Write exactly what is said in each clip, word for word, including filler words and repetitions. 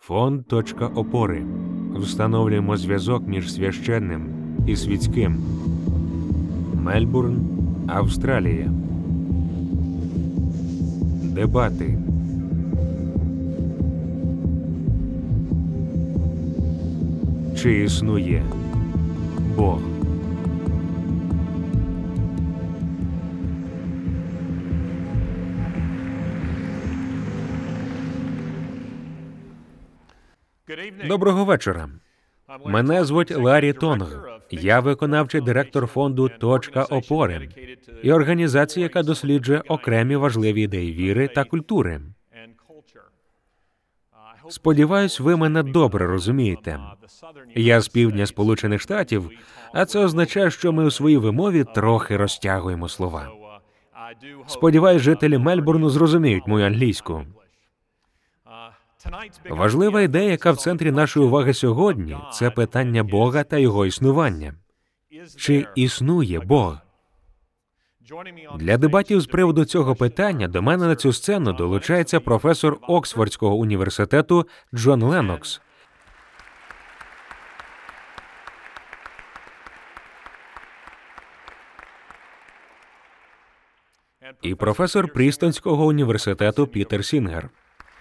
Фонд «Точка опори». Встановлюємо зв'язок між священним і світським. Мельбурн, Австралія. Дебати. Чи існує Бог? Доброго вечора. Мене звуть Ларі Тонг. Я виконавчий директор фонду «Точка опори» і організації, яка досліджує окремі важливі ідеї віри та культури. Сподіваюсь, ви мене добре розумієте. Я з півдня Сполучених Штатів, а це означає, що ми у своїй вимові трохи розтягуємо слова. Сподіваюсь, жителі Мельбурну зрозуміють мою англійську. Важлива ідея, яка в центрі нашої уваги сьогодні, це питання Бога та Його існування. Чи існує Бог? Для дебатів з приводу цього питання до мене на цю сцену долучається професор Оксфордського університету Джон Леннокс. І професор Прістонського університету Пітер Сінгер.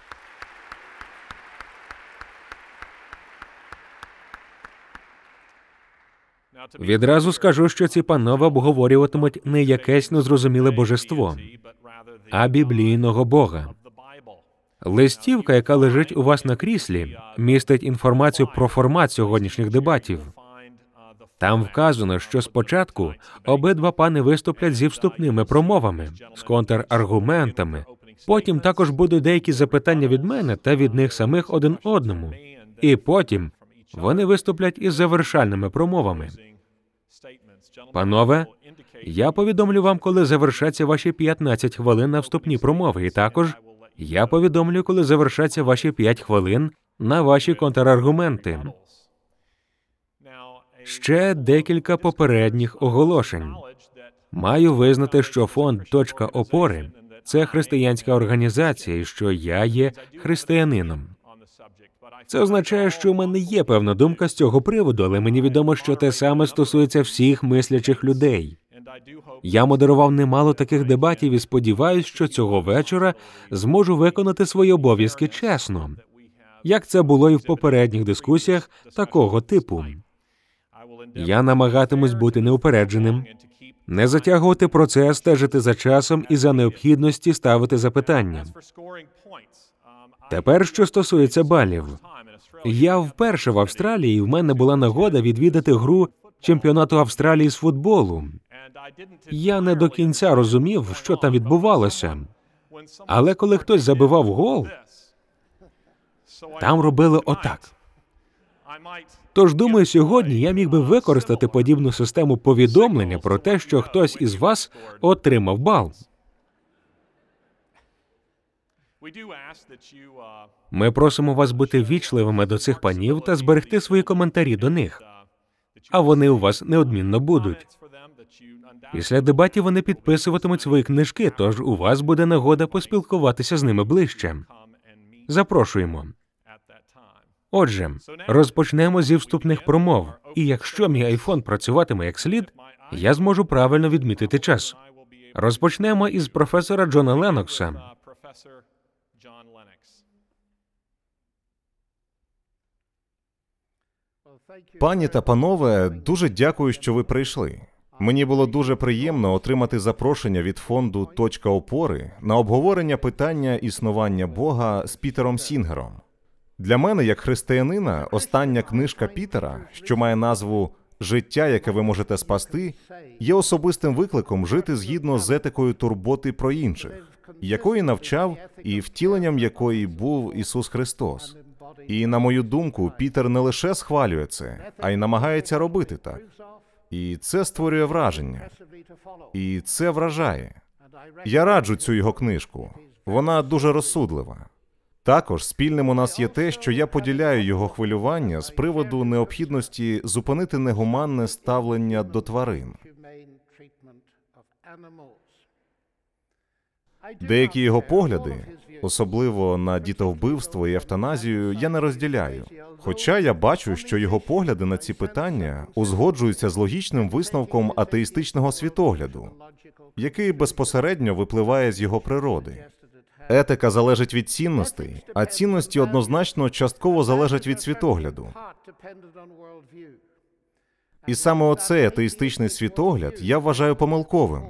Відразу скажу, що ці панове обговорюватимуть не якесь незрозуміле божество, а біблійного Бога. Листівка, яка лежить у вас на кріслі, містить інформацію про формат сьогоднішніх дебатів. Там вказано, що спочатку обидва пани виступлять зі вступними промовами, з контраргументами, потім також будуть деякі запитання від мене та від них самих один одному, і потім вони виступлять із завершальними промовами. Панове, я повідомлю вам, коли завершаться ваші п'ятнадцять хвилин на вступні промови, і також я повідомлю, коли завершаться ваші п'ять хвилин на ваші контраргументи. Ще декілька попередніх оголошень. Маю визнати, що фонд «Точка опори» – це християнська організація, і що я є християнином. Це означає, що у мене є певна думка з цього приводу, але мені відомо, що те саме стосується всіх мислячих людей. Я модерував немало таких дебатів і сподіваюся, що цього вечора зможу виконати свої обов'язки чесно, як це було і в попередніх дискусіях такого типу. Я намагатимусь бути неупередженим, не затягувати процес, стежити за часом і за необхідності ставити запитання. Тепер, що стосується балів. Я вперше в Австралії, і в мене була нагода відвідати гру чемпіонату Австралії з футболу. Я не до кінця розумів, що там відбувалося. Але коли хтось забивав гол, там робили отак. Тож, думаю, сьогодні я міг би використати подібну систему повідомлення про те, що хтось із вас отримав бал. Ми просимо вас бути ввічливими до цих панів та зберегти свої коментарі до них. А вони у вас неодмінно будуть. Після дебатів вони підписуватимуть свої книжки, тож у вас буде нагода поспілкуватися з ними ближче. Запрошуємо. Отже, розпочнемо зі вступних промов. І якщо мій айфон працюватиме як слід, я зможу правильно відмітити час. Розпочнемо із професора Джона Леннокса. Пані та панове, дуже дякую, що ви прийшли. Мені було дуже приємно отримати запрошення від фонду «Точка опори» на обговорення питання існування Бога з Пітером Сінгером. Для мене, як християнина, остання книжка Пітера, що має назву «Життя, яке ви можете спасти», є особистим викликом жити згідно з етикою турботи про інших, якої навчав і втіленням якої був Ісус Христос. І, на мою думку, Пітер не лише схвалює це, а й намагається робити так. І це створює враження. І це вражає. Я раджу цю його книжку. Вона дуже розсудлива. Також спільним у нас є те, що я поділяю його хвилювання з приводу необхідності зупинити негуманне ставлення до тварин. Деякі його погляди, особливо на дітовбивство і евтаназію, я не розділяю. Хоча я бачу, що його погляди на ці питання узгоджуються з логічним висновком атеїстичного світогляду, який безпосередньо випливає з його природи. Етика залежить від цінностей, а цінності однозначно частково залежать від світогляду. І саме оцей атеїстичний світогляд я вважаю помилковим.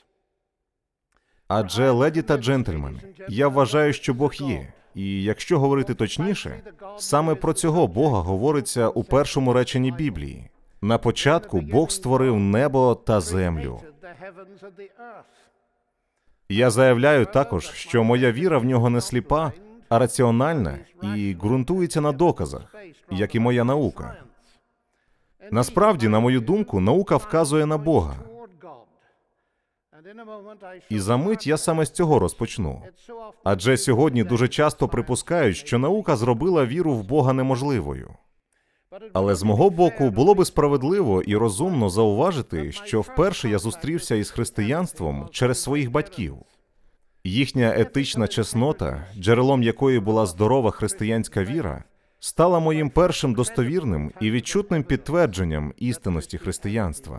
Адже, леді та джентльмени, я вважаю, що Бог є. І якщо говорити точніше, саме про цього Бога говориться у першому реченні Біблії. На початку Бог створив небо та землю. Я заявляю також, що моя віра в нього не сліпа, а раціональна і ґрунтується на доказах, як і моя наука. Насправді, на мою думку, наука вказує на Бога. І за мить я саме з цього розпочну. Адже сьогодні дуже часто припускають, що наука зробила віру в Бога неможливою. Але з мого боку було би справедливо і розумно зауважити, що вперше я зустрівся із християнством через своїх батьків. Їхня етична чеснота, джерелом якої була здорова християнська віра, стала моїм першим достовірним і відчутним підтвердженням істинності християнства.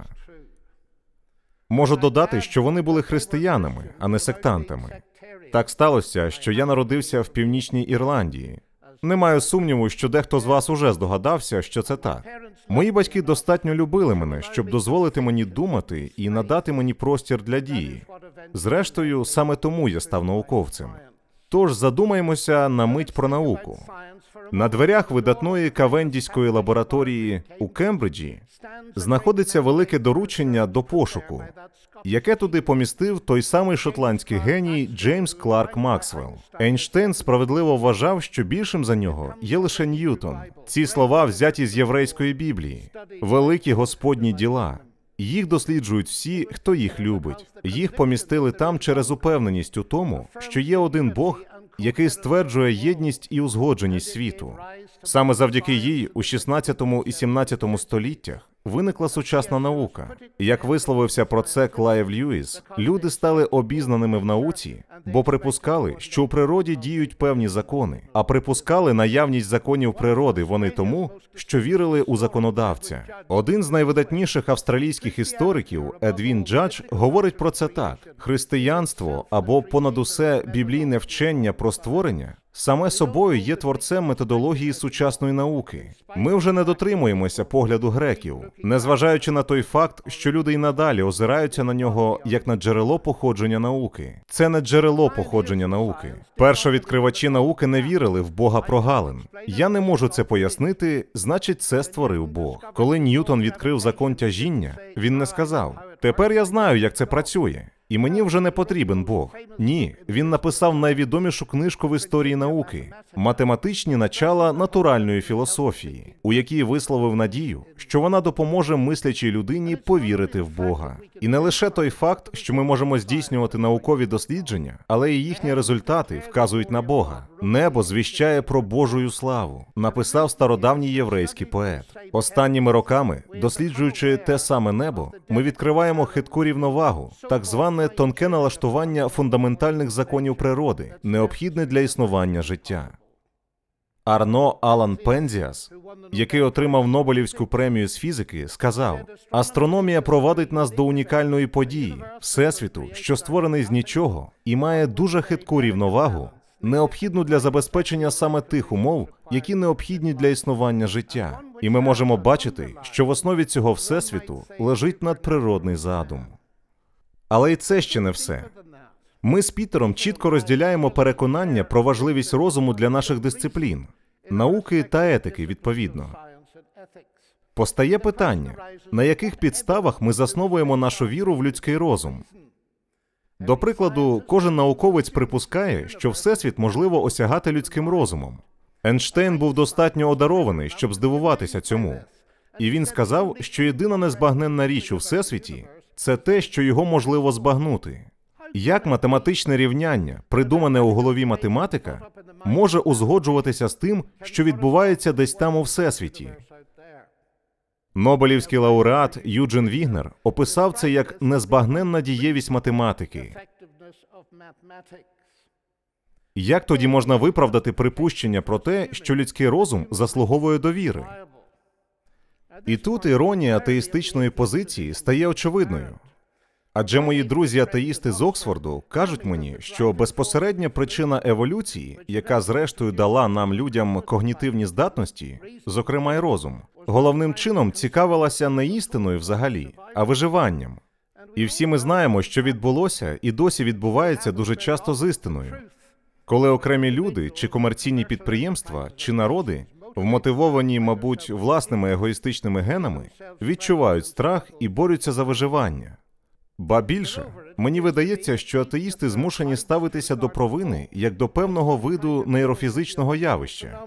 Можу додати, що вони були християнами, а не сектантами. Так сталося, що я народився в Північній Ірландії. Не маю сумніву, що дехто з вас уже здогадався, що це так. Мої батьки достатньо любили мене, щоб дозволити мені думати і надати мені простір для дії. Зрештою, саме тому я став науковцем. Тож задумаємося на мить про науку. На дверях видатної Кавендіської лабораторії у Кембриджі знаходиться велике доручення до пошуку, яке туди помістив той самий шотландський геній Джеймс Кларк Максвелл. Ейнштейн справедливо вважав, що більшим за нього є лише Ньютон. Ці слова взяті з єврейської Біблії. Великі Господні діла. Їх досліджують всі, хто їх любить. Їх помістили там через упевненість у тому, що є один Бог, який стверджує єдність і узгодженість світу. Саме завдяки їй у шістнадцятому і сімнадцятому століттях виникла сучасна наука. Як висловився про це Клайв Льюіс, люди стали обізнаними в науці, бо припускали, що у природі діють певні закони, а припускали наявність законів природи вони тому, що вірили у законодавця. Один з найвидатніших австралійських істориків, Едвін Джадж, говорить про це так. Християнство, або понад усе біблійне вчення про створення, саме собою є творцем методології сучасної науки. Ми вже не дотримуємося погляду греків, незважаючи на той факт, що люди й надалі озираються на нього як на джерело походження науки. Це не джерело походження науки. Першовідкривачі науки не вірили в Бога прогалин. Я не можу це пояснити, значить це створив Бог. Коли Ньютон відкрив закон тяжіння, він не сказав: «Тепер я знаю, як це працює. І мені вже не потрібен Бог». Ні, він написав найвідомішу книжку в історії науки «Математичні начала натуральної філософії», у якій висловив надію, що вона допоможе мислячій людині повірити в Бога. І не лише той факт, що ми можемо здійснювати наукові дослідження, але і їхні результати вказують на Бога. «Небо звіщає про Божую славу», написав стародавній єврейський поет. Останніми роками, досліджуючи те саме небо, ми відкриваємо хитку рівновагу, так зване тонке налаштування фундаментальних законів природи, необхідне для існування життя. Арно Алан Пензіас, який отримав Нобелівську премію з фізики, сказав: «Астрономія провадить нас до унікальної події, Всесвіту, що створений з нічого і має дуже хитку рівновагу, необхідну для забезпечення саме тих умов, які необхідні для існування життя. І ми можемо бачити, що в основі цього Всесвіту лежить надприродний задум». Але і це ще не все. Ми з Пітером чітко розділяємо переконання про важливість розуму для наших дисциплін, науки та етики, відповідно. Постає питання, на яких підставах ми засновуємо нашу віру в людський розум? До прикладу, кожен науковець припускає, що Всесвіт можливо осягати людським розумом. Ейнштейн був достатньо одарований, щоб здивуватися цьому. І він сказав, що єдина незбагненна річ у Всесвіті – це те, що його можливо збагнути. Як математичне рівняння, придумане у голові математика, може узгоджуватися з тим, що відбувається десь там у Всесвіті? Нобелівський лауреат Юджин Вігнер описав це як незбагненна дієвість математики. Як тоді можна виправдати припущення про те, що людський розум заслуговує довіри? І тут іронія атеїстичної позиції стає очевидною. Адже мої друзі-атеїсти з Оксфорду кажуть мені, що безпосередня причина еволюції, яка зрештою дала нам, людям, когнітивні здатності, зокрема й розум, головним чином цікавилася не істиною взагалі, а виживанням. І всі ми знаємо, що відбулося і досі відбувається дуже часто з істиною. Коли окремі люди, чи комерційні підприємства, чи народи, вмотивовані, мабуть, власними егоїстичними генами, відчувають страх і борються за виживання. Ба більше, мені видається, що атеїсти змушені ставитися до провини як до певного виду нейрофізичного явища.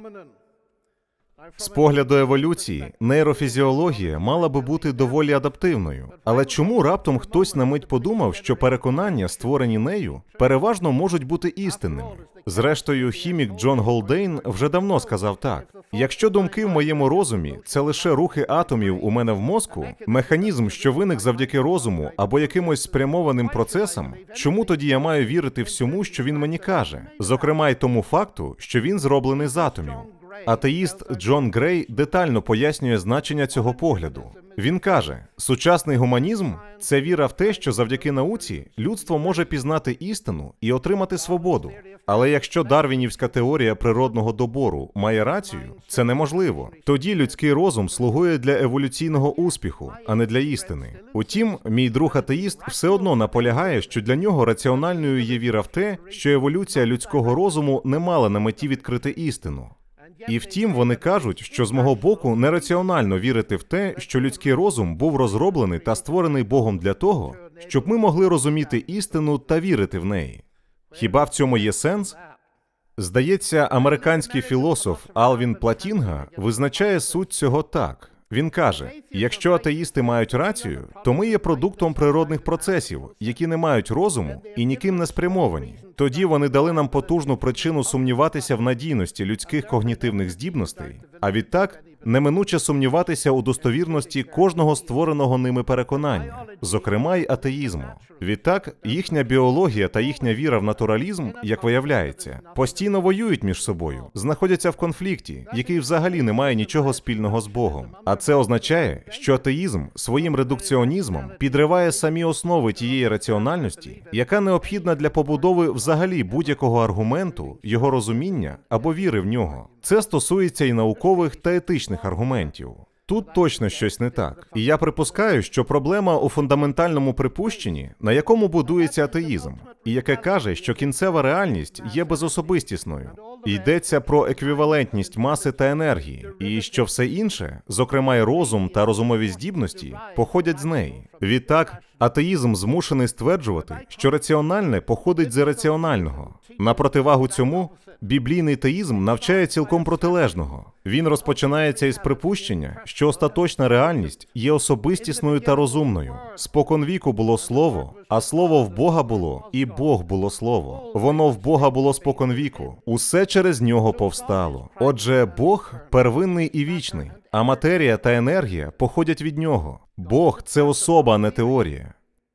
З погляду еволюції, нейрофізіологія мала би бути доволі адаптивною. Але чому раптом хтось на мить подумав, що переконання, створені нею, переважно можуть бути істинними? Зрештою, хімік Джон Голдейн вже давно сказав так. Якщо думки в моєму розумі – це лише рухи атомів у мене в мозку, механізм, що виник завдяки розуму або якимось спрямованим процесам, чому тоді я маю вірити всьому, що він мені каже? Зокрема й тому факту, що він зроблений з атомів. Атеїст Джон Грей детально пояснює значення цього погляду. Він каже, сучасний гуманізм – це віра в те, що завдяки науці людство може пізнати істину і отримати свободу. Але якщо дарвінівська теорія природного добору має рацію, це неможливо. Тоді людський розум слугує для еволюційного успіху, а не для істини. Утім, мій друг-атеїст все одно наполягає, що для нього раціональною є віра в те, що еволюція людського розуму не мала на меті відкрити істину. І втім, вони кажуть, що з мого боку нераціонально вірити в те, що людський розум був розроблений та створений Богом для того, щоб ми могли розуміти істину та вірити в неї. Хіба в цьому є сенс? Здається, американський філософ Алвін Платінга визначає суть цього так. Він каже, якщо атеїсти мають рацію, то ми є продуктом природних процесів, які не мають розуму і ніким не спрямовані. Тоді вони дали нам потужну причину сумніватися в надійності людських когнітивних здібностей, а відтак неминуче сумніватися у достовірності кожного створеного ними переконання, зокрема й атеїзму. Відтак, їхня біологія та їхня віра в натуралізм, як виявляється, постійно воюють між собою, знаходяться в конфлікті, який взагалі не має нічого спільного з Богом. А це означає, що атеїзм своїм редукціонізмом підриває самі основи тієї раціональності, яка необхідна для побудови взагалі будь-якого аргументу, його розуміння або віри в нього. Це стосується і наукових та етичних аргументів. Тут точно щось не так. І я припускаю, що проблема у фундаментальному припущенні, на якому будується атеїзм, і яке каже, що кінцева реальність є безособистісною. Йдеться про еквівалентність маси та енергії, і що все інше, зокрема й розум та розумові здібності, походять з неї. Відтак, атеїзм змушений стверджувати, що раціональне походить з ірраціонального. На противагу цьому, біблійний теїзм навчає цілком протилежного. Він розпочинається із припущення, що остаточна реальність є особистісною та розумною. Споконвіку було слово, а слово в Бога було, і Бог було слово. Воно в Бога було споконвіку. Усе через нього повстало. Отже, Бог первинний і вічний, а матерія та енергія походять від нього. Бог – це особа, а не теорія.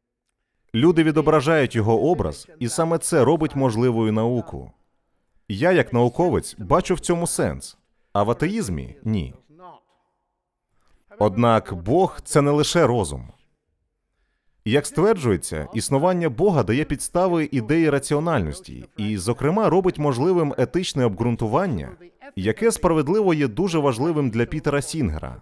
Люди відображають його образ, і саме це робить можливою науку. Я, як науковець, бачу в цьому сенс, а в атеїзмі – ні. Однак Бог – це не лише розум. Як стверджується, існування Бога дає підстави ідеї раціональності і, зокрема, робить можливим етичне обґрунтування, яке справедливо є дуже важливим для Пітера Сінгера.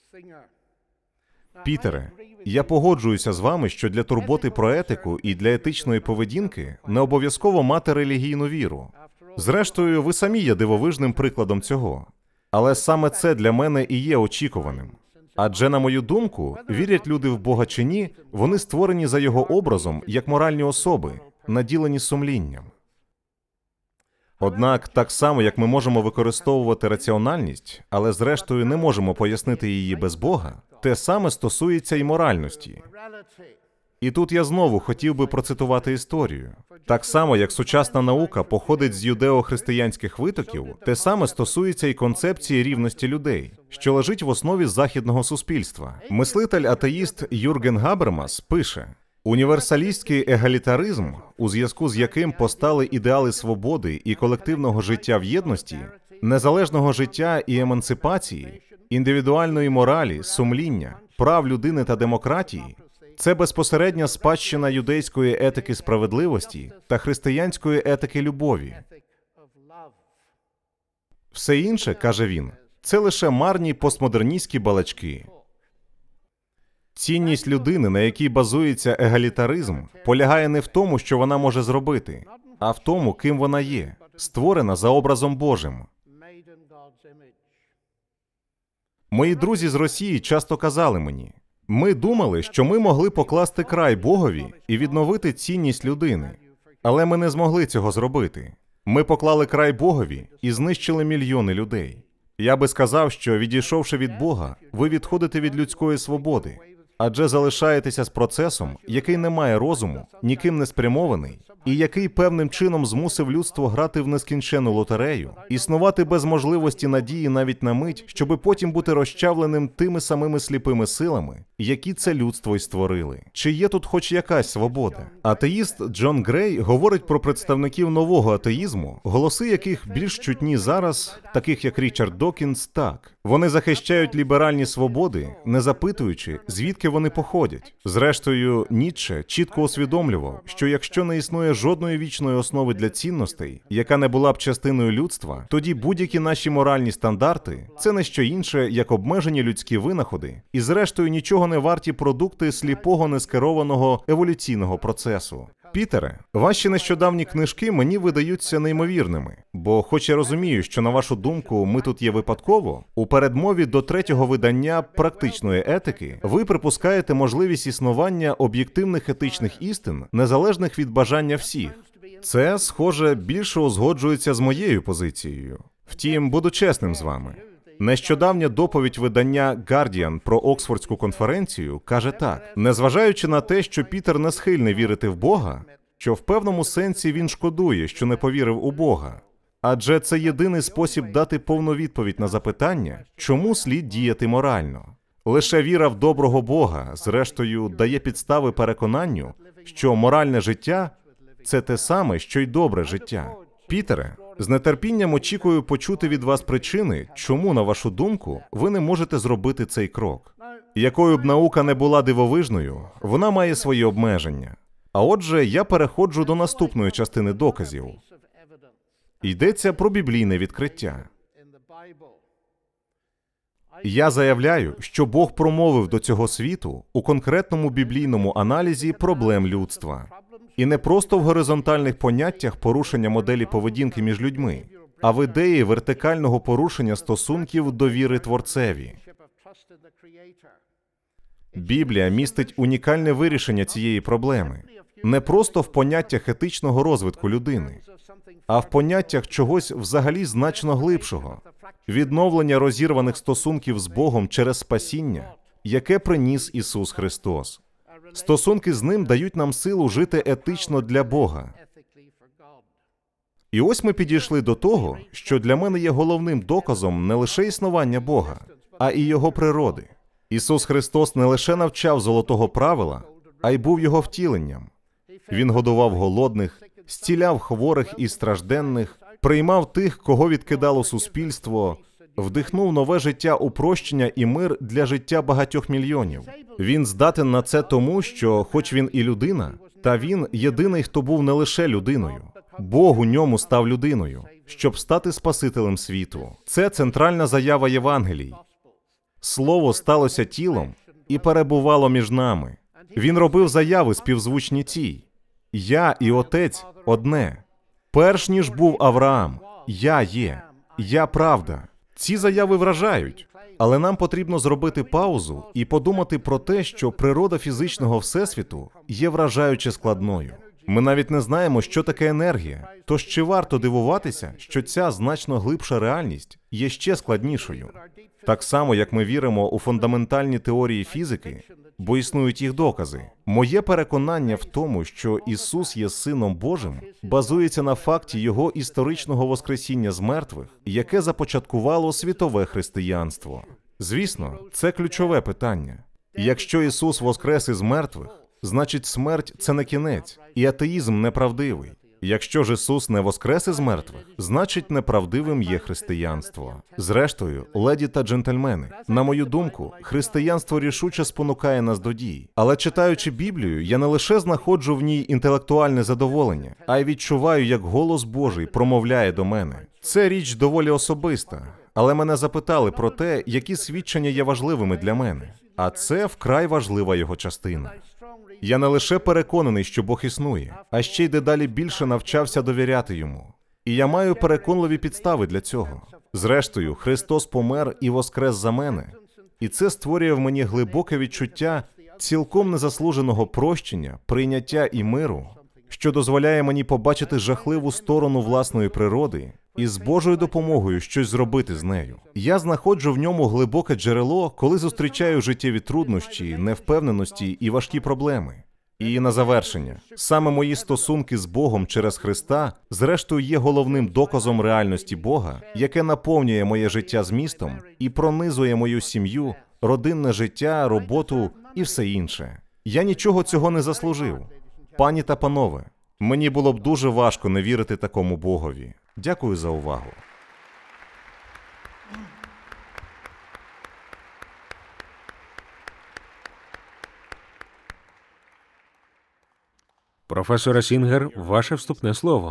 Пітере, я погоджуюся з вами, що для турботи про етику і для етичної поведінки не обов'язково мати релігійну віру. Зрештою, ви самі є дивовижним прикладом цього. Але саме це для мене і є очікуваним. Адже, на мою думку, вірять люди в Бога чи ні, вони створені за його образом як моральні особи, наділені сумлінням. Однак, так само, як ми можемо використовувати раціональність, але зрештою не можемо пояснити її без Бога, те саме стосується і моральності. І тут я знову хотів би процитувати історію. Так само, як сучасна наука походить з юдео-християнських витоків, те саме стосується і концепції рівності людей, що лежить в основі західного суспільства. Мислитель-атеїст Юрген Габермас пише: Універсалістський егалітаризм, у зв'язку з яким постали ідеали свободи і колективного життя в єдності, незалежного життя і емансипації, індивідуальної моралі, сумління, прав людини та демократії, це безпосередня спадщина юдейської етики справедливості та християнської етики любові. Все інше, каже він, це лише марні постмодерністські балачки. Цінність людини, на якій базується егалітаризм, полягає не в тому, що вона може зробити, а в тому, ким вона є, створена за образом Божим. Мої друзі з Росії часто казали мені, ми думали, що ми могли покласти край Богові і відновити цінність людини, але ми не змогли цього зробити. Ми поклали край Богові і знищили мільйони людей. Я би сказав, що, відійшовши від Бога, ви відходите від людської свободи, адже залишаєтеся з процесом, який не має розуму, ніким не спрямований, і який певним чином змусив людство грати в нескінчену лотерею, існувати без можливості надії навіть на мить, щоби потім бути розчавленим тими самими сліпими силами, які це людство й створили. Чи є тут хоч якась свобода? Атеїст Джон Грей говорить про представників нового атеїзму, голоси яких більш чутні зараз, таких як Річард Докінс, так. Вони захищають ліберальні свободи, не запитуючи, звідки вони походять. Зрештою, Ніцше чітко усвідомлював, що якщо не існує жодної вічної основи для цінностей, яка не була б частиною людства, тоді будь-які наші моральні стандарти – це не що інше, як обмежені людські винаходи, і зрештою нічого не варті продукти сліпого нескерованого еволюційного процесу. Пітере, ваші нещодавні книжки мені видаються неймовірними, бо хоч я розумію, що, на вашу думку, ми тут є випадково, у передмові до третього видання «Практичної етики» ви припускаєте можливість існування об'єктивних етичних істин, незалежних від бажання всіх. Це, схоже, більше узгоджується з моєю позицією. Втім, буду чесним з вами. Нещодавня доповідь видання «Гардіан» про Оксфордську конференцію каже так. Незважаючи на те, що Пітер не схильний вірити в Бога, що в певному сенсі він шкодує, що не повірив у Бога. Адже це єдиний спосіб дати повну відповідь на запитання, чому слід діяти морально. Лише віра в доброго Бога, зрештою, дає підстави переконанню, що моральне життя – це те саме, що й добре життя. Пітере, з нетерпінням очікую почути від вас причини, чому, на вашу думку, ви не можете зробити цей крок. Якою б наука не була дивовижною, вона має свої обмеження. А отже, я переходжу до наступної частини доказів. Йдеться про біблійне відкриття. Я заявляю, що Бог промовив до цього світу у конкретному біблійному аналізі проблем людства. І не просто в горизонтальних поняттях порушення моделі поведінки між людьми, а в ідеї вертикального порушення стосунків довіри Творцеві. Біблія містить унікальне вирішення цієї проблеми не просто в поняттях етичного розвитку людини, а в поняттях чогось взагалі значно глибшого – відновлення розірваних стосунків з Богом через спасіння, яке приніс Ісус Христос. Стосунки з Ним дають нам силу жити етично для Бога. І ось ми підійшли до того, що для мене є головним доказом не лише існування Бога, а і Його природи. Ісус Христос не лише навчав золотого правила, а й був Його втіленням. Він годував голодних, зціляв хворих і стражденних, приймав тих, кого відкидало суспільство, вдихнув нове життя у прощення і мир для життя багатьох мільйонів. Він здатен на це тому, що, хоч він і людина, та він єдиний, хто був не лише людиною. Бог у ньому став людиною, щоб стати Спасителем світу. Це центральна заява Євангелій. Слово сталося тілом і перебувало між нами. Він робив заяви співзвучні цій. Я і Отець одне. Перш ніж був Авраам, я є. Я правда. Ці заяви вражають, але нам потрібно зробити паузу і подумати про те, що природа фізичного всесвіту є вражаюче складною. Ми навіть не знаємо, що таке енергія, тож чи варто дивуватися, що ця значно глибша реальність є ще складнішою. Так само, як ми віримо у фундаментальні теорії фізики, бо існують їх докази. Моє переконання в тому, що Ісус є Сином Божим, базується на факті Його історичного воскресіння з мертвих, яке започаткувало світове християнство. Звісно, це ключове питання. Якщо Ісус воскрес із мертвих, значить смерть – це не кінець, і атеїзм неправдивий. Якщо ж Ісус не воскрес із мертвих, значить неправдивим є християнство. Зрештою, леді та джентльмени, на мою думку, християнство рішуче спонукає нас до дій. Але читаючи Біблію, я не лише знаходжу в ній інтелектуальне задоволення, а й відчуваю, як голос Божий промовляє до мене. Це річ доволі особиста, але мене запитали про те, які свідчення є важливими для мене. А це вкрай важлива його частина. Я не лише переконаний, що Бог існує, а ще й дедалі більше навчався довіряти Йому. І я маю переконливі підстави для цього. Зрештою, Христос помер і воскрес за мене. І це створює в мені глибоке відчуття цілком незаслуженого прощення, прийняття і миру, що дозволяє мені побачити жахливу сторону власної природи і з Божою допомогою щось зробити з нею. Я знаходжу в ньому глибоке джерело, коли зустрічаю життєві труднощі, невпевненості і важкі проблеми. І на завершення, саме мої стосунки з Богом через Христа, зрештою, є головним доказом реальності Бога, яке наповнює моє життя змістом і пронизує мою сім'ю, родинне життя, роботу і все інше. Я нічого цього не заслужив. Пані та панове, мені було б дуже важко не вірити такому Богові. Дякую за увагу. Професоре Сінгер, ваше вступне слово.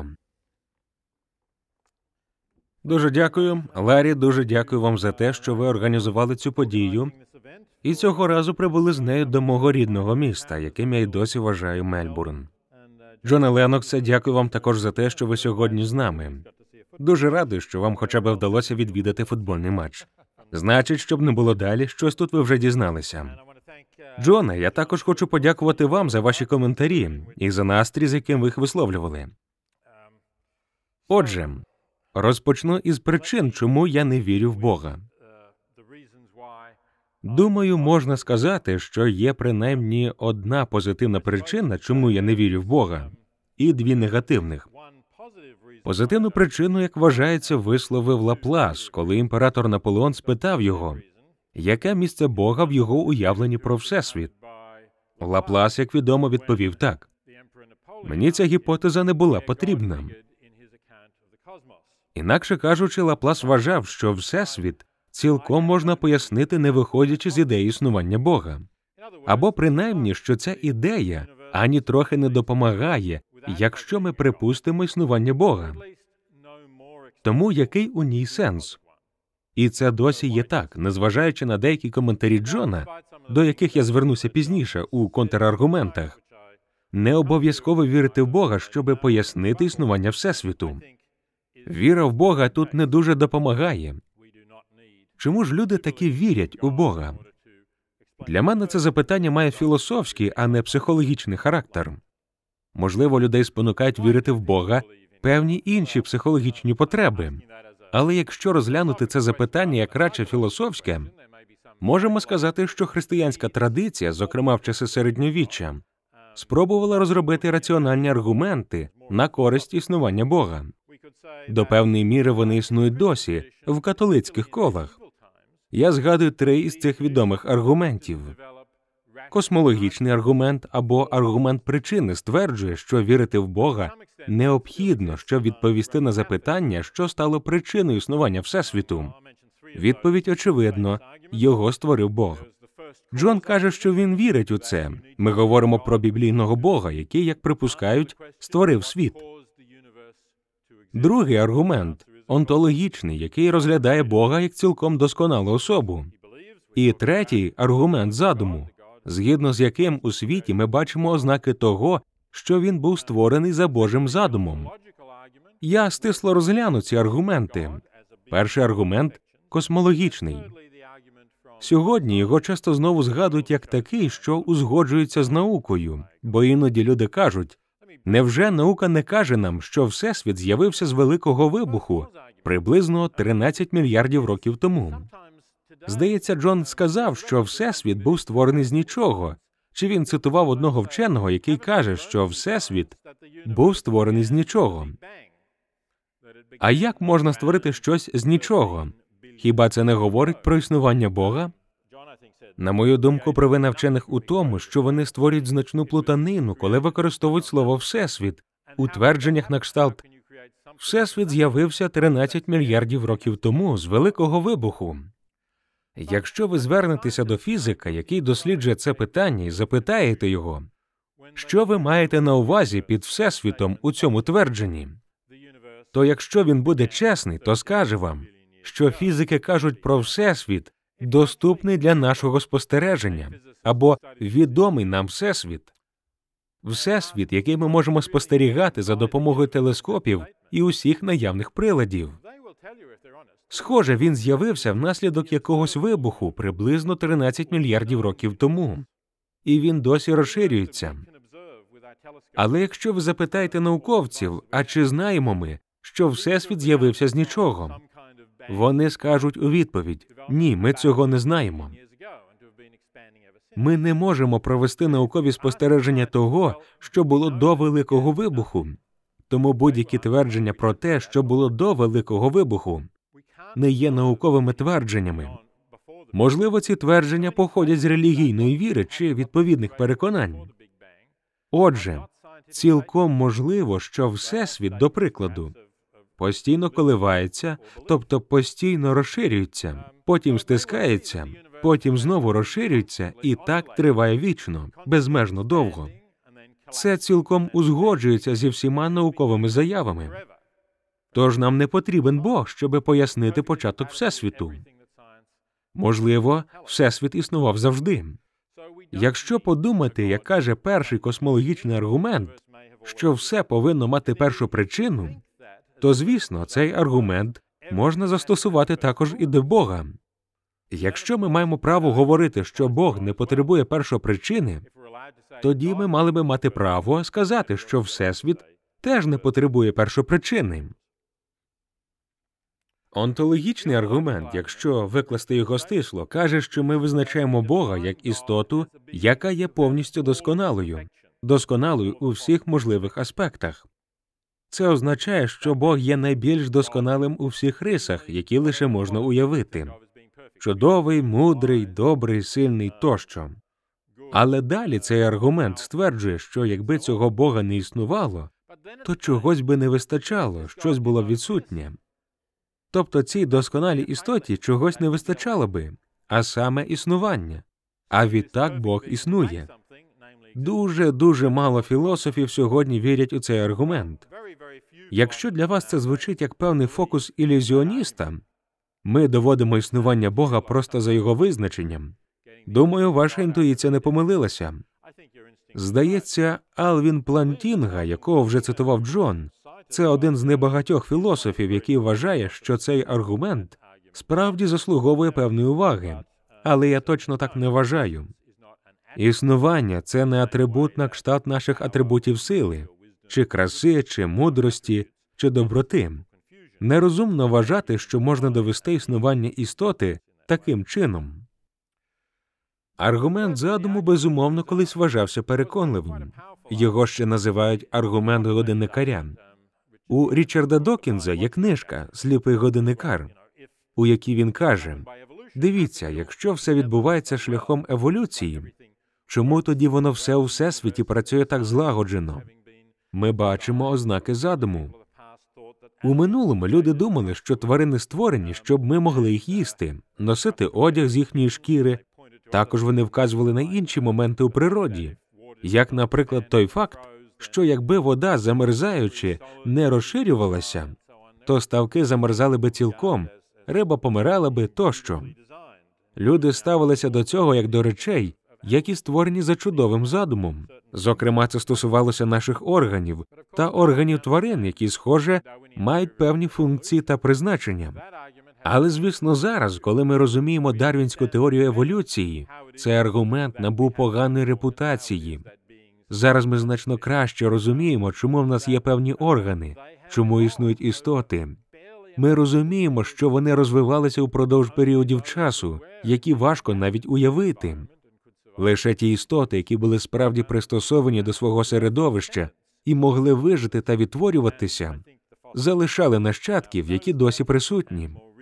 Дуже дякую. Ларі, дуже дякую вам за те, що ви організували цю подію. І цього разу прибули з нею до мого рідного міста, яким я й досі вважаю Мельбурн. Джоне Леноксе, дякую вам також за те, що ви сьогодні з нами. Дуже радий, що вам хоча б вдалося відвідати футбольний матч. Значить, щоб не було далі, щось тут ви вже дізналися. Джоне, я також хочу подякувати вам за ваші коментарі і за настрій, з яким ви їх висловлювали. Отже, розпочну із причин, чому я не вірю в Бога. Думаю, можна сказати, що є принаймні одна позитивна причина, чому я не вірю в Бога, і дві негативних. Позитивну причину, як вважається, висловив Лаплас, коли імператор Наполеон спитав його, яке місце Бога в його уявленні про Всесвіт. Лаплас, як відомо, відповів так. Мені ця гіпотеза не була потрібна. Інакше кажучи, Лаплас вважав, що Всесвіт цілком можна пояснити, не виходячи з ідеї існування Бога. Або принаймні, що ця ідея ані трохи не допомагає, якщо ми припустимо існування Бога. Тому який у ній сенс? І це досі є так, незважаючи на деякі коментарі Джона, до яких я звернуся пізніше у контраргументах. Не обов'язково вірити в Бога, щоби пояснити існування Всесвіту. Віра в Бога тут не дуже допомагає. Чому ж люди таки вірять у Бога? Для мене це запитання має філософський, а не психологічний характер. Можливо, людей спонукають вірити в Бога певні інші психологічні потреби. Але якщо розглянути це запитання як радше філософське, можемо сказати, що християнська традиція, зокрема в часи середньовіччя, спробувала розробити раціональні аргументи на користь існування Бога. До певної міри вони існують досі в католицьких колах. Я згадую три із цих відомих аргументів. Космологічний аргумент або аргумент причини стверджує, що вірити в Бога необхідно, щоб відповісти на запитання, що стало причиною існування Всесвіту. Відповідь очевидно – його створив Бог. Джон каже, що він вірить у це. Ми говоримо про біблійного Бога, який, як припускають, створив світ. Другий аргумент – онтологічний, який розглядає Бога як цілком досконалу особу. І третій аргумент задуму, згідно з яким у світі ми бачимо ознаки того, що він був створений за Божим задумом. Я стисло розгляну ці аргументи. Перший аргумент – космологічний. Сьогодні його часто знову згадують як такий, що узгоджується з наукою, бо іноді люди кажуть, невже наука не каже нам, що Всесвіт з'явився з Великого Вибуху приблизно тринадцять мільярдів років тому? Здається, Джон сказав, що Всесвіт був створений з нічого. Чи він цитував одного вченого, який каже, що Всесвіт був створений з нічого? А як можна створити щось з нічого? Хіба це не говорить про існування Бога? На мою думку, провина вчених у тому, що вони створюють значну плутанину, коли використовують слово «всесвіт» у твердженнях на кшталт «Всесвіт з'явився тринадцять мільярдів років тому з Великого вибуху». Якщо ви звернетеся до фізика, який досліджує це питання, і запитаєте його, що ви маєте на увазі під Всесвітом у цьому твердженні, то якщо він буде чесний, то скаже вам, що фізики кажуть про Всесвіт, доступний для нашого спостереження, або відомий нам Всесвіт. Всесвіт, який ми можемо спостерігати за допомогою телескопів і усіх наявних приладів. Схоже, він з'явився внаслідок якогось вибуху приблизно тринадцять мільярдів років тому. І він досі розширюється. Але якщо ви запитаєте науковців, а чи знаємо ми, що Всесвіт з'явився з нічого? Вони скажуть у відповідь, ні, ми цього не знаємо. Ми не можемо провести наукові спостереження того, що було до Великого вибуху. Тому будь-які твердження про те, що було до Великого вибуху, не є науковими твердженнями. Можливо, ці твердження походять з релігійної віри чи відповідних переконань. Отже, цілком можливо, що Всесвіт, до прикладу, постійно коливається, тобто постійно розширюється, потім стискається, потім знову розширюється, і так триває вічно, безмежно довго. Це цілком узгоджується зі всіма науковими заявами. Тож нам не потрібен Бог, щоб пояснити початок Всесвіту. Можливо, Всесвіт існував завжди. Якщо подумати, як каже перший космологічний аргумент, що все повинно мати першу причину, то, звісно, цей аргумент можна застосувати також і до Бога. Якщо ми маємо право говорити, що Бог не потребує першопричини, тоді ми мали би мати право сказати, що Всесвіт теж не потребує першопричини. Онтологічний аргумент, якщо викласти його стисло, каже, що ми визначаємо Бога як істоту, яка є повністю досконалою, досконалою у всіх можливих аспектах. Це означає, що Бог є найбільш досконалим у всіх рисах, які лише можна уявити. Чудовий, мудрий, добрий, сильний тощо. Але далі цей аргумент стверджує, що якби цього Бога не існувало, то чогось би не вистачало, щось було відсутнє. Тобто цій досконалій істоті чогось не вистачало би, а саме існування. А відтак Бог існує. Дуже-дуже мало філософів сьогодні вірять у цей аргумент. Якщо для вас це звучить як певний фокус ілюзіоніста, ми доводимо існування Бога просто за його визначенням. Думаю, ваша інтуїція не помилилася. Здається, Алвін Плантінга, якого вже цитував Джон, це один з небагатьох філософів, який вважає, що цей аргумент справді заслуговує певної уваги. Але я точно так не вважаю. Існування – це не атрибут на кшталт наших атрибутів сили, чи краси, чи мудрості, чи доброти. Нерозумно вважати, що можна довести існування істоти таким чином. Аргумент задуму, безумовно, колись вважався переконливим. Його ще називають аргумент годинникаря. У Річарда Докінза є книжка «Сліпий годинникар», у якій він каже, «Дивіться, якщо все відбувається шляхом еволюції, чому тоді воно все у Всесвіті працює так злагоджено? Ми бачимо ознаки задуму. У минулому люди думали, що тварини створені, щоб ми могли їх їсти, носити одяг з їхньої шкіри. Також вони вказували на інші моменти у природі, як, наприклад, той факт, що якби вода, замерзаючи, не розширювалася, то ставки замерзали би цілком, риба помирала би тощо. Люди ставилися до цього як до речей, які створені за чудовим задумом. Зокрема, це стосувалося наших органів та органів тварин, які, схоже, мають певні функції та призначення. Але, звісно, зараз, коли ми розуміємо дарвінську теорію еволюції, цей аргумент набув поганої репутації. Зараз ми значно краще розуміємо, чому в нас є певні органи, чому існують істоти. Ми розуміємо, що вони розвивалися упродовж періодів часу, які важко навіть уявити. Лише ті істоти, які були справді пристосовані до свого середовища і могли вижити та відтворюватися, залишали нащадків, які досі присутні.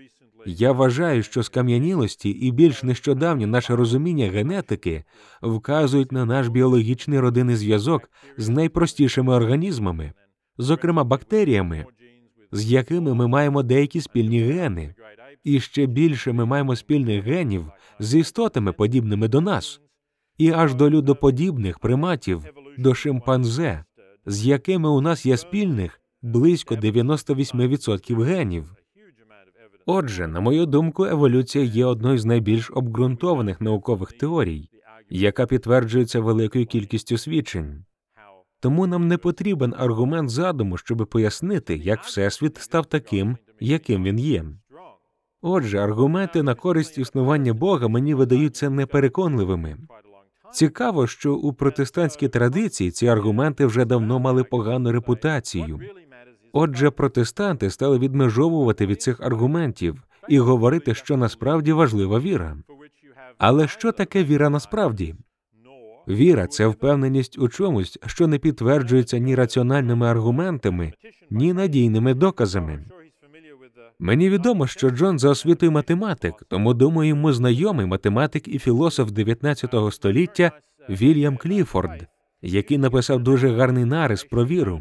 Я вважаю, що скам'янілості і більш нещодавнє наше розуміння генетики вказують на наш біологічний родинний зв'язок з найпростішими організмами, зокрема бактеріями, з якими ми маємо деякі спільні гени, і ще більше ми маємо спільних генів з істотами, подібними до нас, і аж до людоподібних приматів, до шимпанзе, з якими у нас є спільних близько дев'яносто вісім відсотків генів. Отже, на мою думку, еволюція є одною з найбільш обґрунтованих наукових теорій, яка підтверджується великою кількістю свідчень. Тому нам не потрібен аргумент задуму, щоб пояснити, як Всесвіт став таким, яким він є. Отже, аргументи на користь існування Бога мені видаються непереконливими. Цікаво, що у протестантській традиції ці аргументи вже давно мали погану репутацію. Отже, протестанти стали відмежовувати від цих аргументів і говорити, що насправді важлива віра. Але що таке віра насправді? Віра – це впевненість у чомусь, що не підтверджується ні раціональними аргументами, ні надійними доказами. Мені відомо, що Джон за освітою математик, тому, думаю, йому знайомий математик і філософ дев'ятнадцятого століття Вільям Кліфорд, який написав дуже гарний нарис про віру.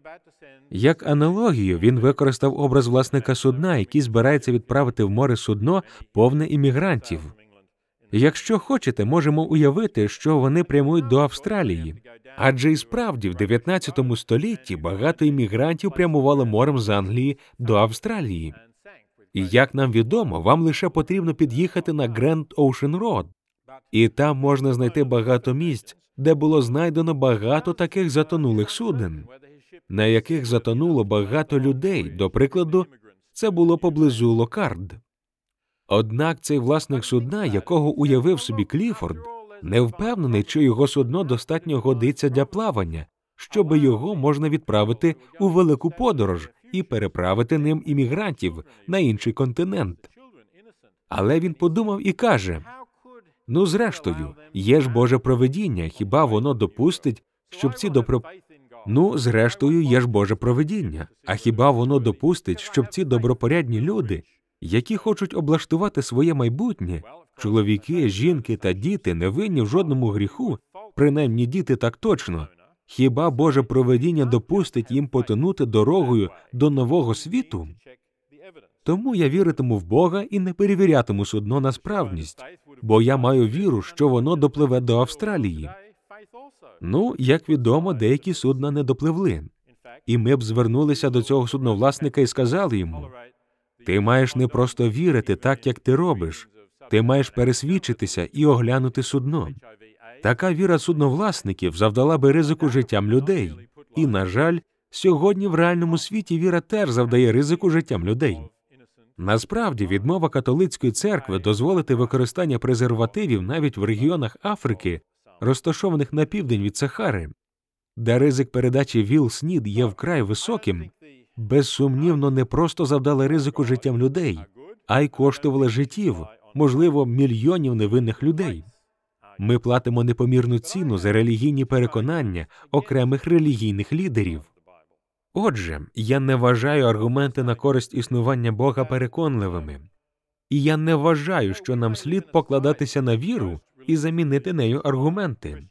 Як аналогію він використав образ власника судна, який збирається відправити в море судно, повне іммігрантів. Якщо хочете, можемо уявити, що вони прямують до Австралії. Адже і справді в дев'ятнадцятому столітті багато іммігрантів прямувало морем з Англії до Австралії. І, як нам відомо, вам лише потрібно під'їхати на Grand Ocean Road. І там можна знайти багато місць, де було знайдено багато таких затонулих суден, на яких затонуло багато людей, до прикладу, це було поблизу Локард. Однак цей власник судна, якого уявив собі Кліфорд, не впевнений, чи його судно достатньо годиться для плавання, щоби його можна відправити у велику подорож і переправити ним іммігрантів на інший континент. Але він подумав і каже, ну, зрештою, є ж Боже провидіння, хіба воно допустить, щоб ці добро... Ну, зрештою, є ж Боже провидіння, а хіба воно допустить, щоб ці добропорядні люди, які хочуть облаштувати своє майбутнє, чоловіки, жінки та діти не винні в жодному гріху, принаймні діти так точно, хіба Боже провидіння допустить їм потонути дорогою до нового світу? Тому я віритиму в Бога і не перевірятиму судно на справність, бо я маю віру, що воно допливе до Австралії. Ну, як відомо, деякі судна не допливли. І ми б звернулися до цього судновласника і сказали йому, ти маєш не просто вірити так, як ти робиш, ти маєш пересвідчитися і оглянути судно. Така віра судновласників завдала би ризику життям людей. І, на жаль, сьогодні в реальному світі віра теж завдає ризику життям людей. Насправді, відмова католицької церкви дозволити використання презервативів навіть в регіонах Африки, розташованих на південь від Сахари, де ризик передачі ВІЛ-СНІД є вкрай високим, безсумнівно не просто завдали ризику життям людей, а й коштували життів, можливо, мільйонів невинних людей. Ми платимо непомірну ціну за релігійні переконання окремих релігійних лідерів. Отже, я не вважаю аргументи на користь існування Бога переконливими. І я не вважаю, що нам слід покладатися на віру і замінити нею аргументи.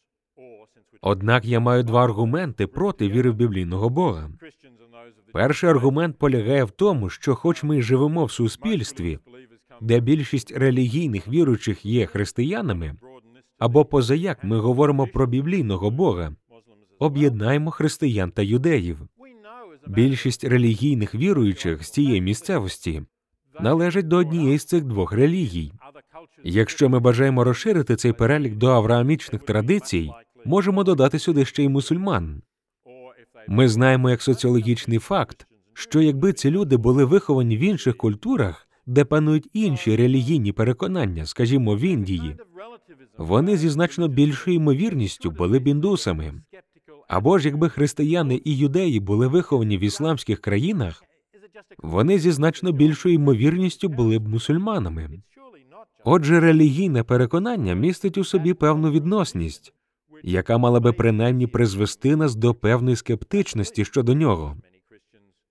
Однак я маю два аргументи проти віри в біблійного Бога. Перший аргумент полягає в тому, що хоч ми живемо в суспільстві, де більшість релігійних віруючих є християнами, або позаяк ми говоримо про біблійного Бога, об'єднаємо християн та юдеїв. Більшість релігійних віруючих з цієї місцевості належать до однієї з цих двох релігій. Якщо ми бажаємо розширити цей перелік до авраамічних традицій, можемо додати сюди ще й мусульман. Ми знаємо як соціологічний факт, що якби ці люди були виховані в інших культурах, де панують інші релігійні переконання, скажімо, в Індії, вони зі значно більшою ймовірністю були б індусами. Або ж якби християни і юдеї були виховані в ісламських країнах, вони зі значно більшою ймовірністю були б мусульманами. Отже, релігійне переконання містить у собі певну відносність, яка мала би принаймні призвести нас до певної скептичності щодо нього.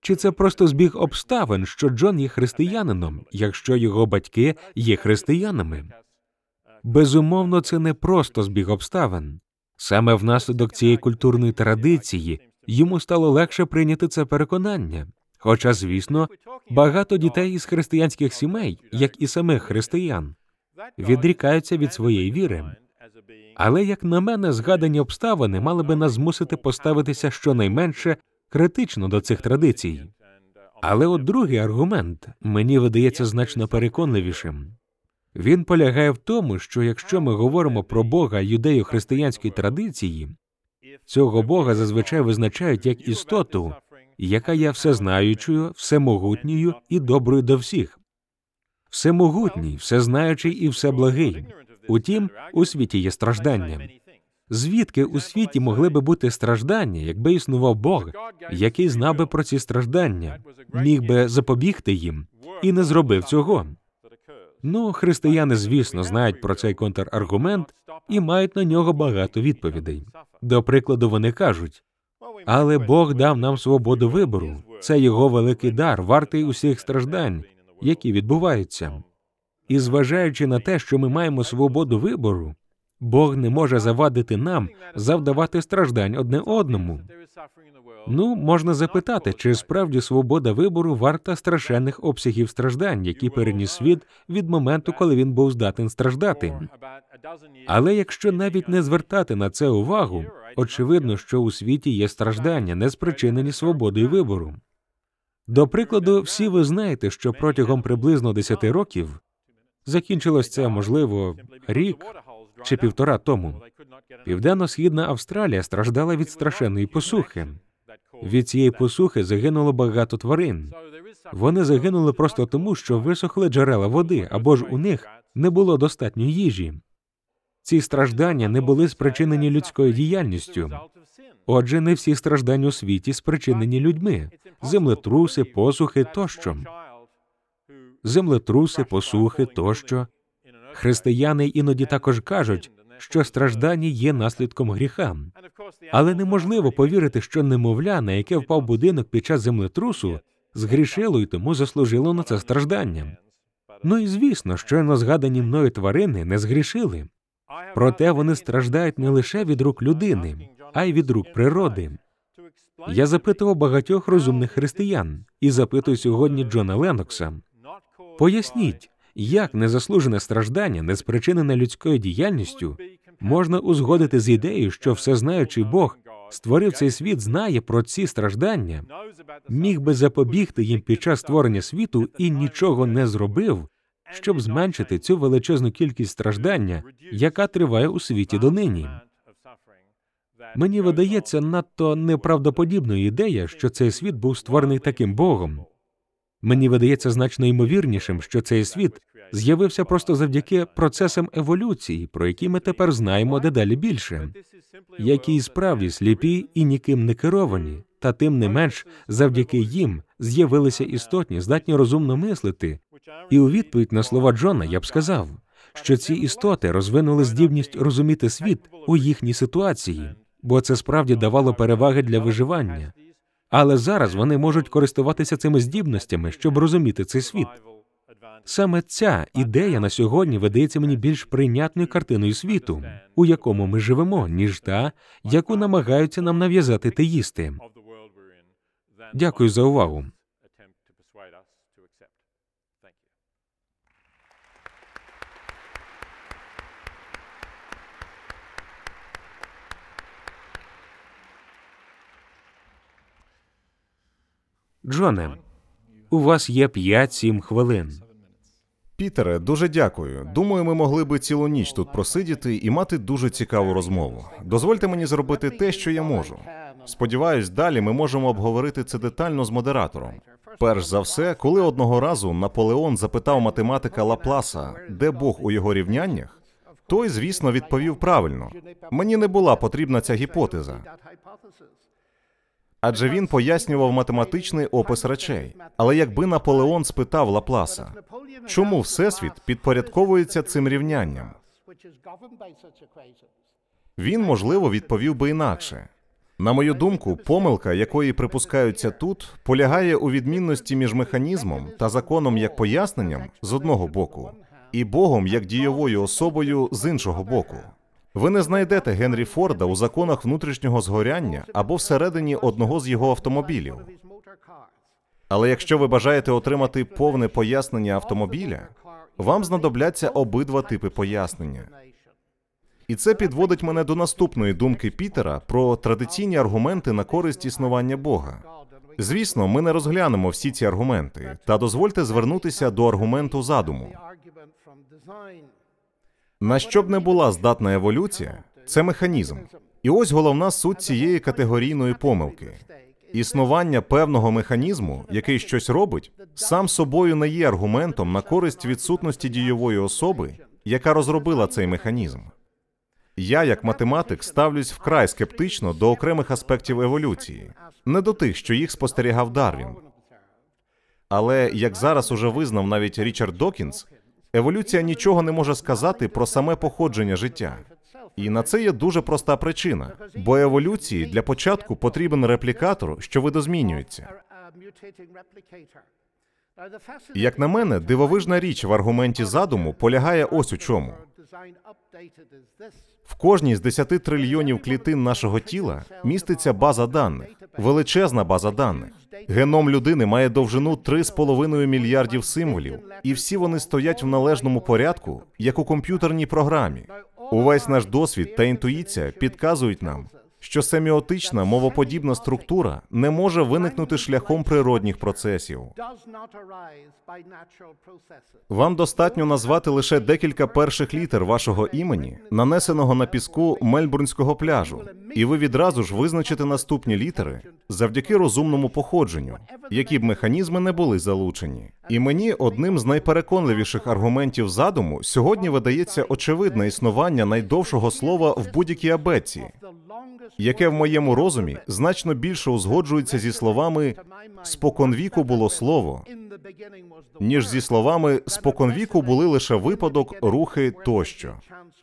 Чи це просто збіг обставин, що Джон є християнином, якщо його батьки є християнами? Безумовно, це не просто збіг обставин. Саме внаслідок цієї культурної традиції йому стало легше прийняти це переконання. Хоча, звісно, багато дітей із християнських сімей, як і самих християн, відрікаються від своєї віри. Але, як на мене, згадані обставини мали би нас змусити поставитися щонайменше критично до цих традицій. Але от другий аргумент мені видається значно переконливішим. Він полягає в тому, що якщо ми говоримо про Бога юдею-християнської традиції, цього Бога зазвичай визначають як істоту, яка є всезнаючою, всемогутньою і доброю до всіх. Всемогутній, всезнаючий і всеблагий. Утім, у світі є страждання. Звідки у світі могли би бути страждання, якби існував Бог, який знав би про ці страждання, міг би запобігти їм і не зробив цього? Ну, християни, звісно, знають про цей контраргумент і мають на нього багато відповідей. До прикладу, вони кажуть: «Але Бог дав нам свободу вибору. Це його великий дар, вартий усіх страждань, які відбуваються. І зважаючи на те, що ми маємо свободу вибору, Бог не може завадити нам завдавати страждань одне одному». Ну, можна запитати, чи справді свобода вибору варта страшенних обсягів страждань, які переніс світ від моменту, коли він був здатен страждати. Але якщо навіть не звертати на це увагу, очевидно, що у світі є страждання, не спричинені свободою вибору. До прикладу, всі ви знаєте, що протягом приблизно десяти років закінчилось це, можливо, рік чи півтора тому. Південно-східна Австралія страждала від страшенної посухи. Від цієї посухи загинуло багато тварин. Вони загинули просто тому, що висохли джерела води, або ж у них не було достатньо їжі. Ці страждання не були спричинені людською діяльністю. Отже, не всі страждання у світі спричинені людьми. Землетруси, посухи тощо. Землетруси, посухи тощо. Християни іноді також кажуть, що страждання є наслідком гріха. Але неможливо повірити, що немовля, на яке впав будинок під час землетрусу, згрішило і тому заслужило на це страждання. Ну і звісно, щойно згадані мною тварини не згрішили. Проте вони страждають не лише від рук людини, а й від рук природи. Я запитував багатьох розумних християн і запитую сьогодні Джона Леннокса: поясніть, як незаслужене страждання, не спричинене людською діяльністю, можна узгодити з ідеєю, що всезнаючий Бог створив цей світ, знає про ці страждання, міг би запобігти їм під час створення світу і нічого не зробив, щоб зменшити цю величезну кількість страждання, яка триває у світі донині. Мені видається надто неправдоподібною ідея, що цей світ був створений таким Богом. Мені видається значно ймовірнішим, що цей світ з'явився просто завдяки процесам еволюції, про які ми тепер знаємо дедалі більше, які справді сліпі і ніким не керовані, та тим не менш завдяки їм з'явилися істотні, здатні розумно мислити. І у відповідь на слова Джона я б сказав, що ці істоти розвинули здібність розуміти світ у їхній ситуації, бо це справді давало переваги для виживання. Але зараз вони можуть користуватися цими здібностями, щоб розуміти цей світ. Саме ця ідея на сьогодні видається мені більш прийнятною картиною світу, у якому ми живемо, ніж та, яку намагаються нам нав'язати теїсти. Дякую за увагу. Джоне, у вас є п'ять-сім хвилин. Пітере, дуже дякую. Думаю, ми могли би цілу ніч тут просидіти і мати дуже цікаву розмову. Дозвольте мені зробити те, що я можу. Сподіваюсь, далі ми можемо обговорити це детально з модератором. Перш за все, коли одного разу Наполеон запитав математика Лапласа, де Бог у його рівняннях, той, звісно, відповів правильно. Мені не була потрібна ця гіпотеза. Адже він пояснював математичний опис речей. Але якби Наполеон спитав Лапласа, чому Всесвіт підпорядковується цим рівнянням, він, можливо, відповів би інакше. На мою думку, помилка, якої припускаються тут, полягає у відмінності між механізмом та законом як поясненням з одного боку, і Богом як дієвою особою з іншого боку. Ви не знайдете Генрі Форда у законах внутрішнього згоряння або всередині одного з його автомобілів. Але якщо ви бажаєте отримати повне пояснення автомобіля, вам знадобляться обидва типи пояснення. І це підводить мене до наступної думки Пітера про традиційні аргументи на користь існування Бога. Звісно, ми не розглянемо всі ці аргументи, та дозвольте звернутися до аргументу задуму. На що б не була здатна еволюція, це механізм. І ось головна суть цієї категорійної помилки. Існування певного механізму, який щось робить, сам собою не є аргументом на користь відсутності дієвої особи, яка розробила цей механізм. Я, як математик, ставлюсь вкрай скептично до окремих аспектів еволюції, не до тих, що їх спостерігав Дарвін. Але, як зараз уже визнав навіть Річард Докінс, еволюція нічого не може сказати про саме походження життя. І на це є дуже проста причина, бо еволюції для початку потрібен реплікатор, що видозмінюється. Як на мене, дивовижна річ в аргументі задуму полягає ось у чому. В кожній з десяти трильйонів клітин нашого тіла міститься база даних, величезна база даних. Геном людини має довжину три з половиною мільярдів символів, і всі вони стоять в належному порядку, як у комп'ютерній програмі. Увесь наш досвід та інтуїція підказують нам, що семіотична мовоподібна структура не може виникнути шляхом природних процесів. Вам достатньо назвати лише декілька перших літер вашого імені, нанесеного на піску Мельбурнського пляжу, і ви відразу ж визначите наступні літери завдяки розумному походженню, які б механізми не були залучені. І мені одним з найпереконливіших аргументів задуму сьогодні видається очевидне існування найдовшого слова в будь-якій абетці, яке в моєму розумі значно більше узгоджується зі словами «споконвіку було слово», ніж зі словами «споконвіку були лише випадок, рухи тощо».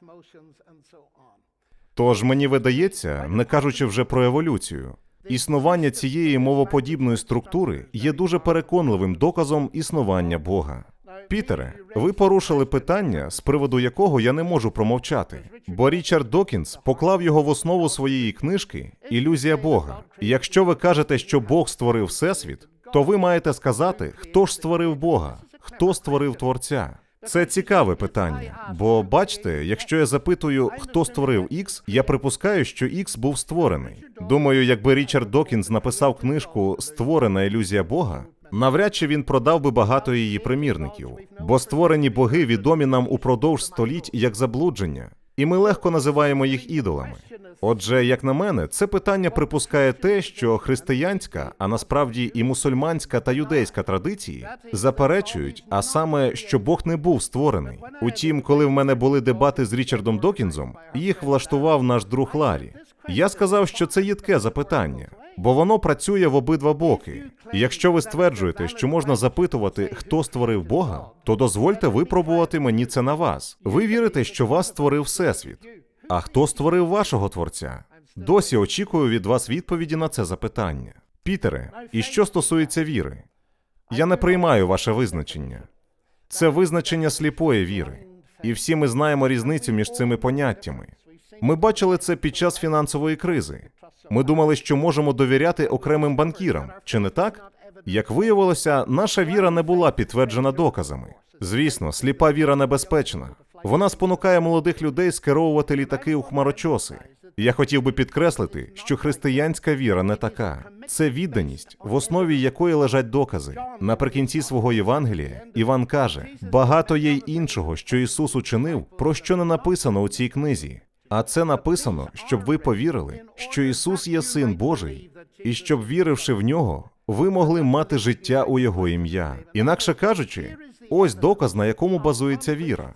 Тож мені видається, не кажучи вже про еволюцію, існування цієї мовоподібної структури є дуже переконливим доказом існування Бога. Пітере, ви порушили питання, з приводу якого я не можу промовчати, бо Річард Докінс поклав його в основу своєї книжки «Ілюзія Бога». І якщо ви кажете, що Бог створив Всесвіт, то ви маєте сказати, хто ж створив Бога, хто створив Творця. Це цікаве питання, бо, бачите, якщо я запитую, хто створив Ікс, я припускаю, що Ікс був створений. Думаю, якби Річард Докінс написав книжку «Створена ілюзія Бога», навряд чи він продав би багато її примірників, бо створені боги відомі нам упродовж століть як заблудження, і ми легко називаємо їх ідолами. Отже, як на мене, це питання припускає те, що християнська, а насправді і мусульманська та юдейська традиції заперечують, а саме, що Бог не був створений. Утім, коли в мене були дебати з Річардом Докінзом, їх влаштував наш друг Ларі. Я сказав, що це їдке запитання, бо воно працює в обидва боки. І якщо ви стверджуєте, що можна запитувати, хто створив Бога, то дозвольте випробувати мені це на вас. Ви вірите, що вас створив Всесвіт. А хто створив вашого Творця? Досі очікую від вас відповіді на це запитання. Пітере, і що стосується віри? Я не приймаю ваше визначення. Це визначення сліпої віри. І всі ми знаємо різницю між цими поняттями. Ми бачили це під час фінансової кризи. Ми думали, що можемо довіряти окремим банкірам, чи не так? Як виявилося, наша віра не була підтверджена доказами. Звісно, сліпа віра небезпечна. Вона спонукає молодих людей скеровувати літаки у хмарочоси. Я хотів би підкреслити, що християнська віра не така. Це відданість, в основі якої лежать докази. Наприкінці свого Євангелія Іван каже, «Багато є й іншого, що Ісус учинив, про що не написано у цій книзі». А це написано, щоб ви повірили, що Ісус є Син Божий, і щоб, віривши в Нього, ви могли мати життя у Його ім'я. Інакше кажучи, ось доказ, на якому базується віра.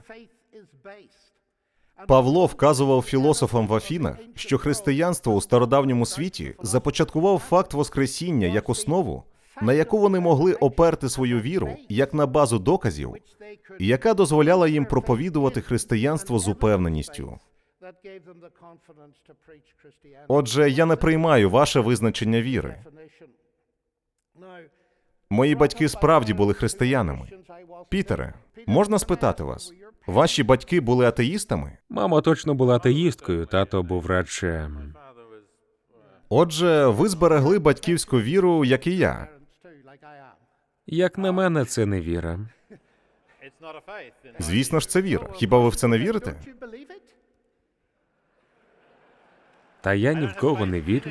Павло вказував філософам в Афінах, що християнство у стародавньому світі започаткував факт Воскресіння як основу, на яку вони могли оперти свою віру, як на базу доказів, яка дозволяла їм проповідувати християнство з упевненістю. Отже, я не приймаю ваше визначення віри. Мої батьки справді були християнами. Пітере, можна спитати вас, ваші батьки були атеїстами? Мама точно була атеїсткою, тато був радше. Отже, ви зберегли батьківську віру, як і я. Як на мене, це не віра. Звісно ж, це віра. Хіба ви в це не вірите? Та я ні в кого не вірю.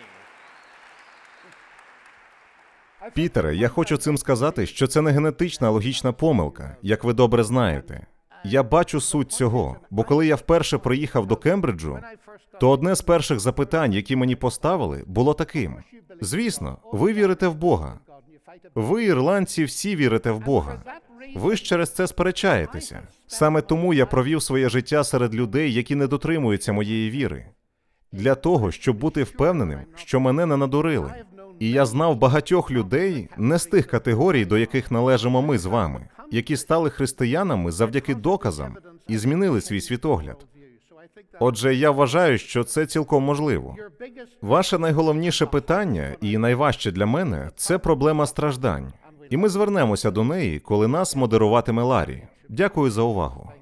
Пітере, я хочу цим сказати, що це не генетична логічна помилка, як ви добре знаєте. Я бачу суть цього, бо коли я вперше приїхав до Кембриджу, то одне з перших запитань, які мені поставили, було таким. Звісно, ви вірите в Бога. Ви, ірландці, всі вірите в Бога. Ви ж через це сперечаєтеся. Саме тому я провів своє життя серед людей, які не дотримуються моєї віри. Для того, щоб бути впевненим, що мене не надурили. І я знав багатьох людей, не з тих категорій, до яких належимо ми з вами, які стали християнами завдяки доказам і змінили свій світогляд. Отже, я вважаю, що це цілком можливо. Ваше найголовніше питання, і найважче для мене, це проблема страждань. І ми звернемося до неї, коли нас модеруватиме Ларі. Дякую за увагу.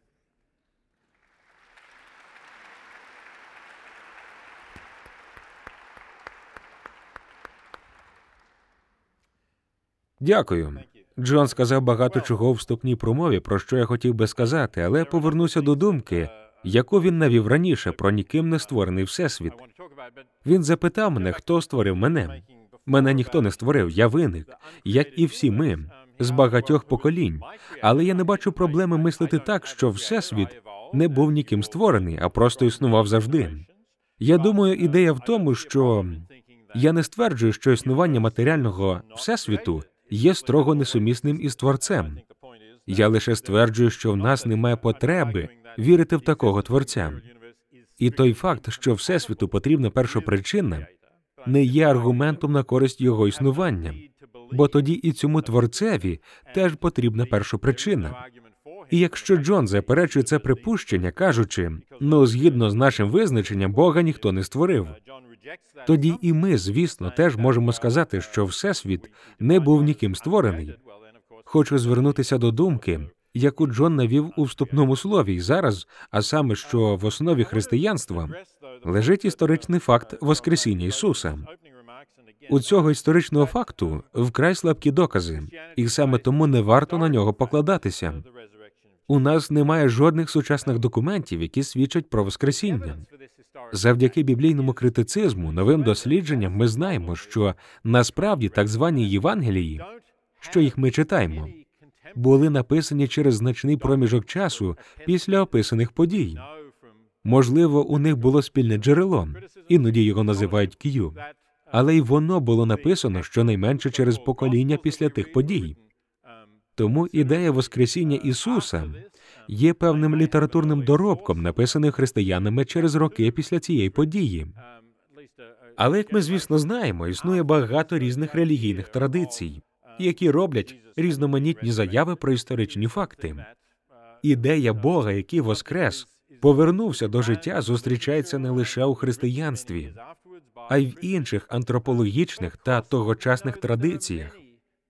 Дякую. Джон сказав багато чого у вступній промові, про що я хотів би сказати, але повернуся до думки, яку він навів раніше про ніким не створений всесвіт. Він запитав мене, хто створив мене. Мене ніхто не створив, я виник, як і всі ми, з багатьох поколінь. Але я не бачу проблеми мислити так, що всесвіт не був ніким створений, а просто існував завжди. Я думаю, ідея в тому, що я не стверджую, що існування матеріального всесвіту є строго несумісним із Творцем. Я лише стверджую, що в нас немає потреби вірити в такого Творця. І той факт, що Всесвіту потрібна першопричина, не є аргументом на користь його існування, бо тоді і цьому Творцеві теж потрібна першопричина. І якщо Джон заперечує це припущення, кажучи, ну, згідно з нашим визначенням, Бога ніхто не створив, тоді і ми, звісно, теж можемо сказати, що Всесвіт не був ніким створений. Хочу звернутися до думки, яку Джон навів у вступному слові і зараз, а саме, що в основі християнства лежить історичний факт Воскресіння Ісуса. У цього історичного факту вкрай слабкі докази, і саме тому не варто на нього покладатися. У нас немає жодних сучасних документів, які свідчать про Воскресіння. Завдяки біблійному критицизму, новим дослідженням ми знаємо, що насправді так звані Євангелії, що їх ми читаємо, були написані через значний проміжок часу після описаних подій. Можливо, у них було спільне джерело, іноді його називають К'ю, але й воно було написано щонайменше через покоління після тих подій. Тому ідея Воскресіння Ісуса є певним літературним доробком, написаним християнами через роки після цієї події. Але, як ми, звісно, знаємо, існує багато різних релігійних традицій, які роблять різноманітні заяви про історичні факти. Ідея Бога, який воскрес, повернувся до життя, зустрічається не лише у християнстві, а й в інших антропологічних та тогочасних традиціях.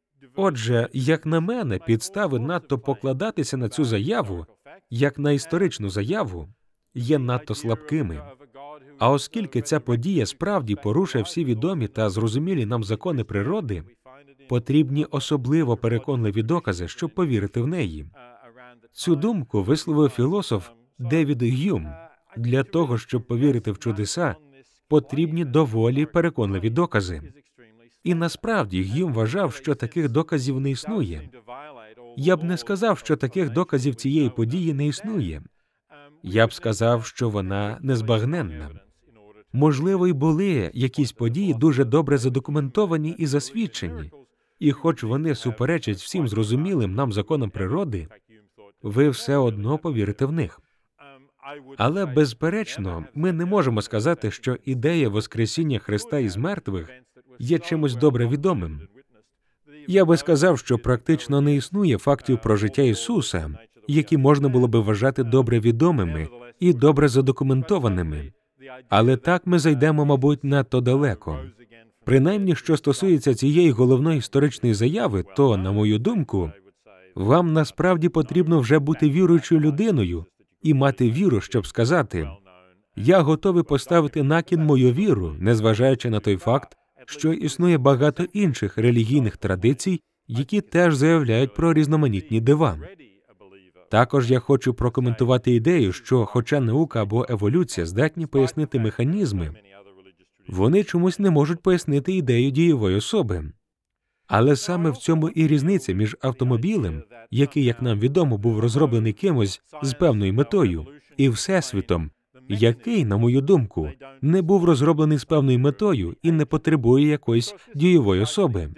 Отже, як на мене, підстави надто покладатися на цю заяву, як на історичну заяву, є надто слабкими. А оскільки ця подія справді порушує всі відомі та зрозумілі нам закони природи, потрібні особливо переконливі докази, щоб повірити в неї. Цю думку висловив філософ Девід Г'юм. Для того, щоб повірити в чудеса, потрібні доволі переконливі докази. І насправді Г'юм вважав, що таких доказів не існує. Я б не сказав, що таких доказів цієї події не існує. Я б сказав, що вона незбагненна. Можливо, й були якісь події дуже добре задокументовані і засвідчені, і хоч вони суперечать всім зрозумілим нам законам природи, ви все одно повірите в них. Але, безперечно, ми не можемо сказати, що ідея Воскресіння Христа із мертвих є чимось добре відомим. Я би сказав, що практично не існує фактів про життя Ісуса, які можна було би вважати добре відомими і добре задокументованими. Але так ми зайдемо, мабуть, надто далеко. Принаймні, що стосується цієї головної історичної заяви, то, на мою думку, вам насправді потрібно вже бути віруючою людиною і мати віру, щоб сказати: «Я готовий поставити на кін мою віру, незважаючи на той факт, що існує багато інших релігійних традицій, які теж заявляють про різноманітні дива». Також я хочу прокоментувати ідею, що, хоча наука або еволюція здатні пояснити механізми, вони чомусь не можуть пояснити ідею дієвої особи. Але саме в цьому і різниця між автомобілем, який, як нам відомо, був розроблений кимось з певною метою, і Всесвітом, який, на мою думку, не був розроблений з певною метою і не потребує якоїсь дієвої особи.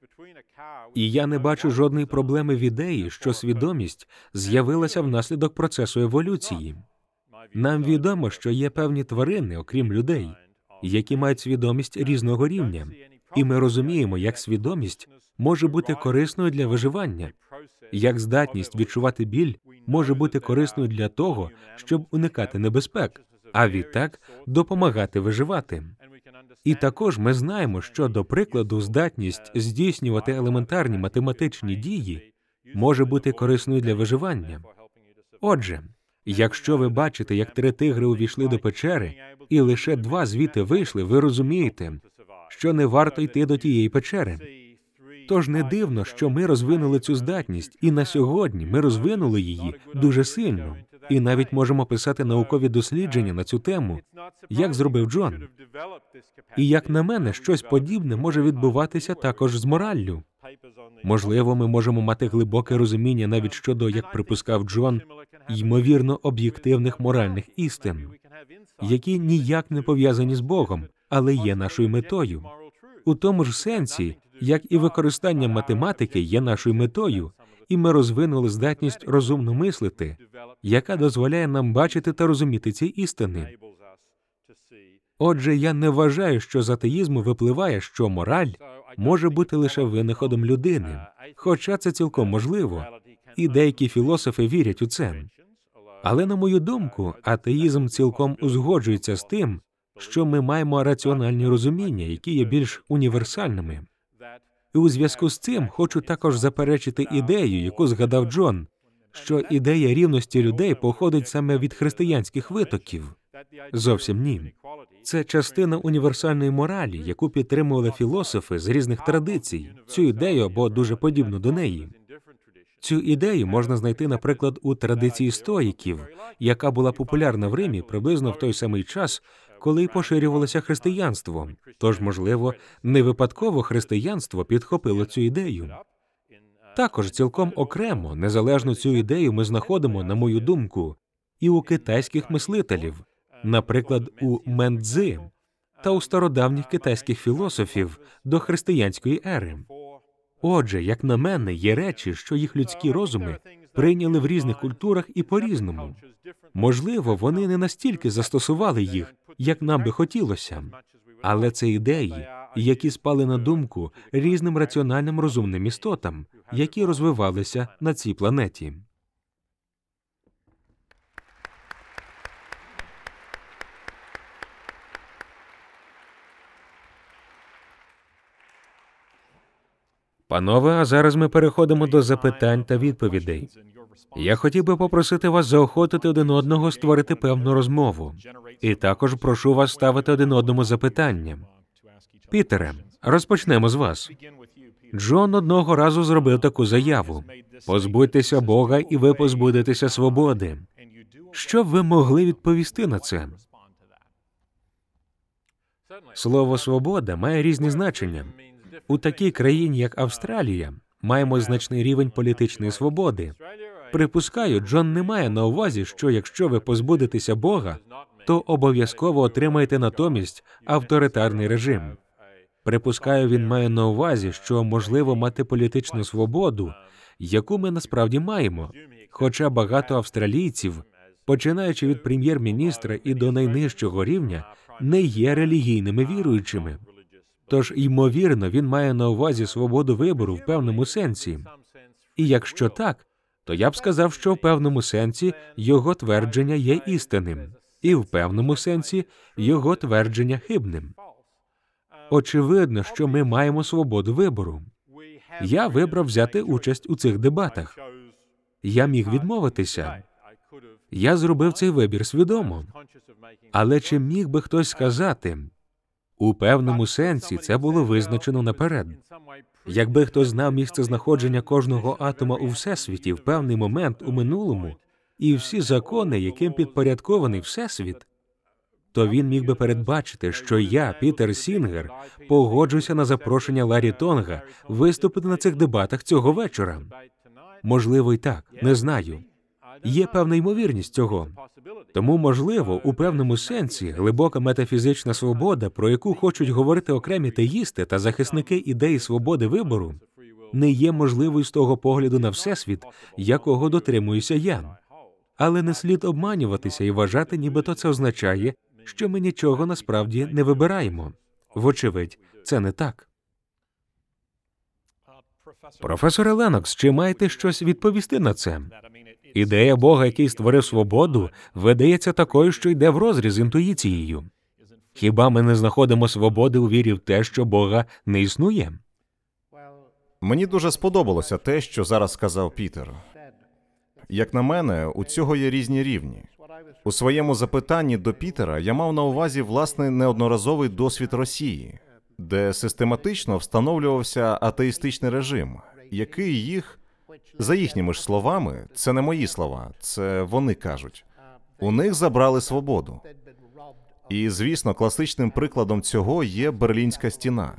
І я не бачу жодної проблеми в ідеї, що свідомість з'явилася внаслідок процесу еволюції. Нам відомо, що є певні тварини, окрім людей, які мають свідомість різного рівня, і ми розуміємо, як свідомість може бути корисною для виживання, як здатність відчувати біль може бути корисною для того, щоб уникати небезпек, а відтак допомагати виживати. І також ми знаємо, що, до прикладу, здатність здійснювати елементарні математичні дії може бути корисною для виживання. Отже, якщо ви бачите, як три тигри увійшли до печери, і лише два звідти вийшли, ви розумієте, що не варто йти до тієї печери. Тож не дивно, що ми розвинули цю здатність, і на сьогодні ми розвинули її дуже сильно, і навіть можемо писати наукові дослідження на цю тему, як зробив Джон. І, як на мене, щось подібне може відбуватися також з мораллю. Можливо, ми можемо мати глибоке розуміння навіть щодо, як припускав Джон, ймовірно об'єктивних моральних істин, які ніяк не пов'язані з Богом, але є нашою метою. У тому ж сенсі, як і використання математики є нашою метою, і ми розвинули здатність розумно мислити, яка дозволяє нам бачити та розуміти ці істини. Отже, я не вважаю, що з атеїзму випливає, що мораль може бути лише винаходом людини, хоча це цілком можливо, і деякі філософи вірять у це. Але, на мою думку, атеїзм цілком узгоджується з тим, що ми маємо раціональні розуміння, які є більш універсальними. І у зв'язку з цим хочу також заперечити ідею, яку згадав Джон, що ідея рівності людей походить саме від християнських витоків. Зовсім ні. Це частина універсальної моралі, яку підтримували філософи з різних традицій, цю ідею або дуже подібну до неї. Цю ідею можна знайти, наприклад, у традиції стоїків, яка була популярна в Римі приблизно в той самий час, коли й поширювалося християнство. Тож, можливо, не випадково християнство підхопило цю ідею. Також цілком окремо, незалежно цю ідею ми знаходимо, на мою думку, і у китайських мислителів, наприклад, у Мендзи, та у стародавніх китайських філософів до християнської ери. Отже, як на мене, є речі, що їх людські розуми прийняли в різних культурах і по-різному. Можливо, вони не настільки застосували їх, як нам би хотілося. Але це ідеї, які спали на думку різним раціональним розумним істотам, які розвивалися на цій планеті. Панове, а зараз ми переходимо до запитань та відповідей. Я хотів би попросити вас заохотити один одного створити певну розмову. І також прошу вас ставити один одному запитання. Пітере, розпочнемо з вас. Джон одного разу зробив таку заяву: «Позбудьтеся Бога, і ви позбудетеся свободи». Що б ви могли відповісти на це? Слово «свобода» має різні значення. У такій країні, як Австралія, маємо значний рівень політичної свободи. Припускаю, Джон не має на увазі, що якщо ви позбудетеся Бога, то обов'язково отримаєте натомість авторитарний режим. Припускаю, він має на увазі, що можливо мати політичну свободу, яку ми насправді маємо, хоча багато австралійців, починаючи від прем'єр-міністра і до найнижчого рівня, не є релігійними віруючими. Тож, ймовірно, він має на увазі свободу вибору в певному сенсі. І якщо так, то я б сказав, що в певному сенсі його твердження є істинним, і в певному сенсі його твердження хибним. Очевидно, що ми маємо свободу вибору. Я вибрав взяти участь у цих дебатах. Я міг відмовитися. Я зробив цей вибір свідомо. Але чи міг би хтось сказати, у певному сенсі це було визначено наперед. Якби хтось знав місце знаходження кожного атома у Всесвіті в певний момент у минулому, і всі закони, яким підпорядкований Всесвіт, то він міг би передбачити, що я, Пітер Сінгер, погоджуся на запрошення Ларрі Тонга виступити на цих дебатах цього вечора. Можливо, й так, не знаю. Є певна ймовірність цього. Тому, можливо, у певному сенсі глибока метафізична свобода, про яку хочуть говорити окремі теїсти та захисники ідеї свободи вибору, не є можливою з того погляду на Всесвіт, якого дотримуюся я. Але не слід обманюватися і вважати, нібито це означає, що ми нічого насправді не вибираємо. Вочевидь, це не так. Професоре Леннокс, чи маєте щось відповісти на це? Ідея Бога, який створив свободу, видається такою, що йде врозріз з інтуїцією. Хіба ми не знаходимо свободи у вірі в те, що Бога не існує? Мені дуже сподобалося те, що зараз сказав Пітер. Як на мене, у цього є різні рівні. У своєму запитанні до Пітера я мав на увазі власний неодноразовий досвід Росії, де систематично встановлювався атеїстичний режим, який їх, за їхніми ж словами, це не мої слова, це вони кажуть, у них забрали свободу. І, звісно, класичним прикладом цього є Берлінська стіна.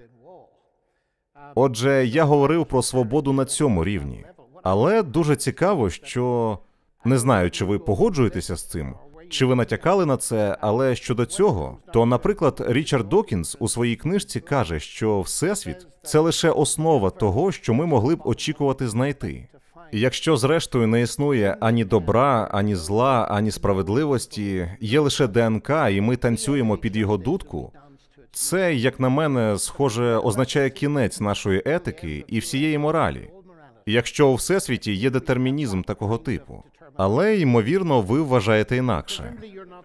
Отже, я говорив про свободу на цьому рівні. Але дуже цікаво, що... Не знаю, чи ви погоджуєтеся з цим, чи ви натякали на це, але щодо цього, то, наприклад, Річард Докінс у своїй книжці каже, що Всесвіт – це лише основа того, що ми могли б очікувати знайти. І якщо, зрештою, не існує ані добра, ані зла, ані справедливості, є лише ДНК, і ми танцюємо під його дудку, це, як на мене, схоже, означає кінець нашої етики і всієї моралі. Якщо у Всесвіті є детермінізм такого типу. Але, ймовірно, ви вважаєте інакше.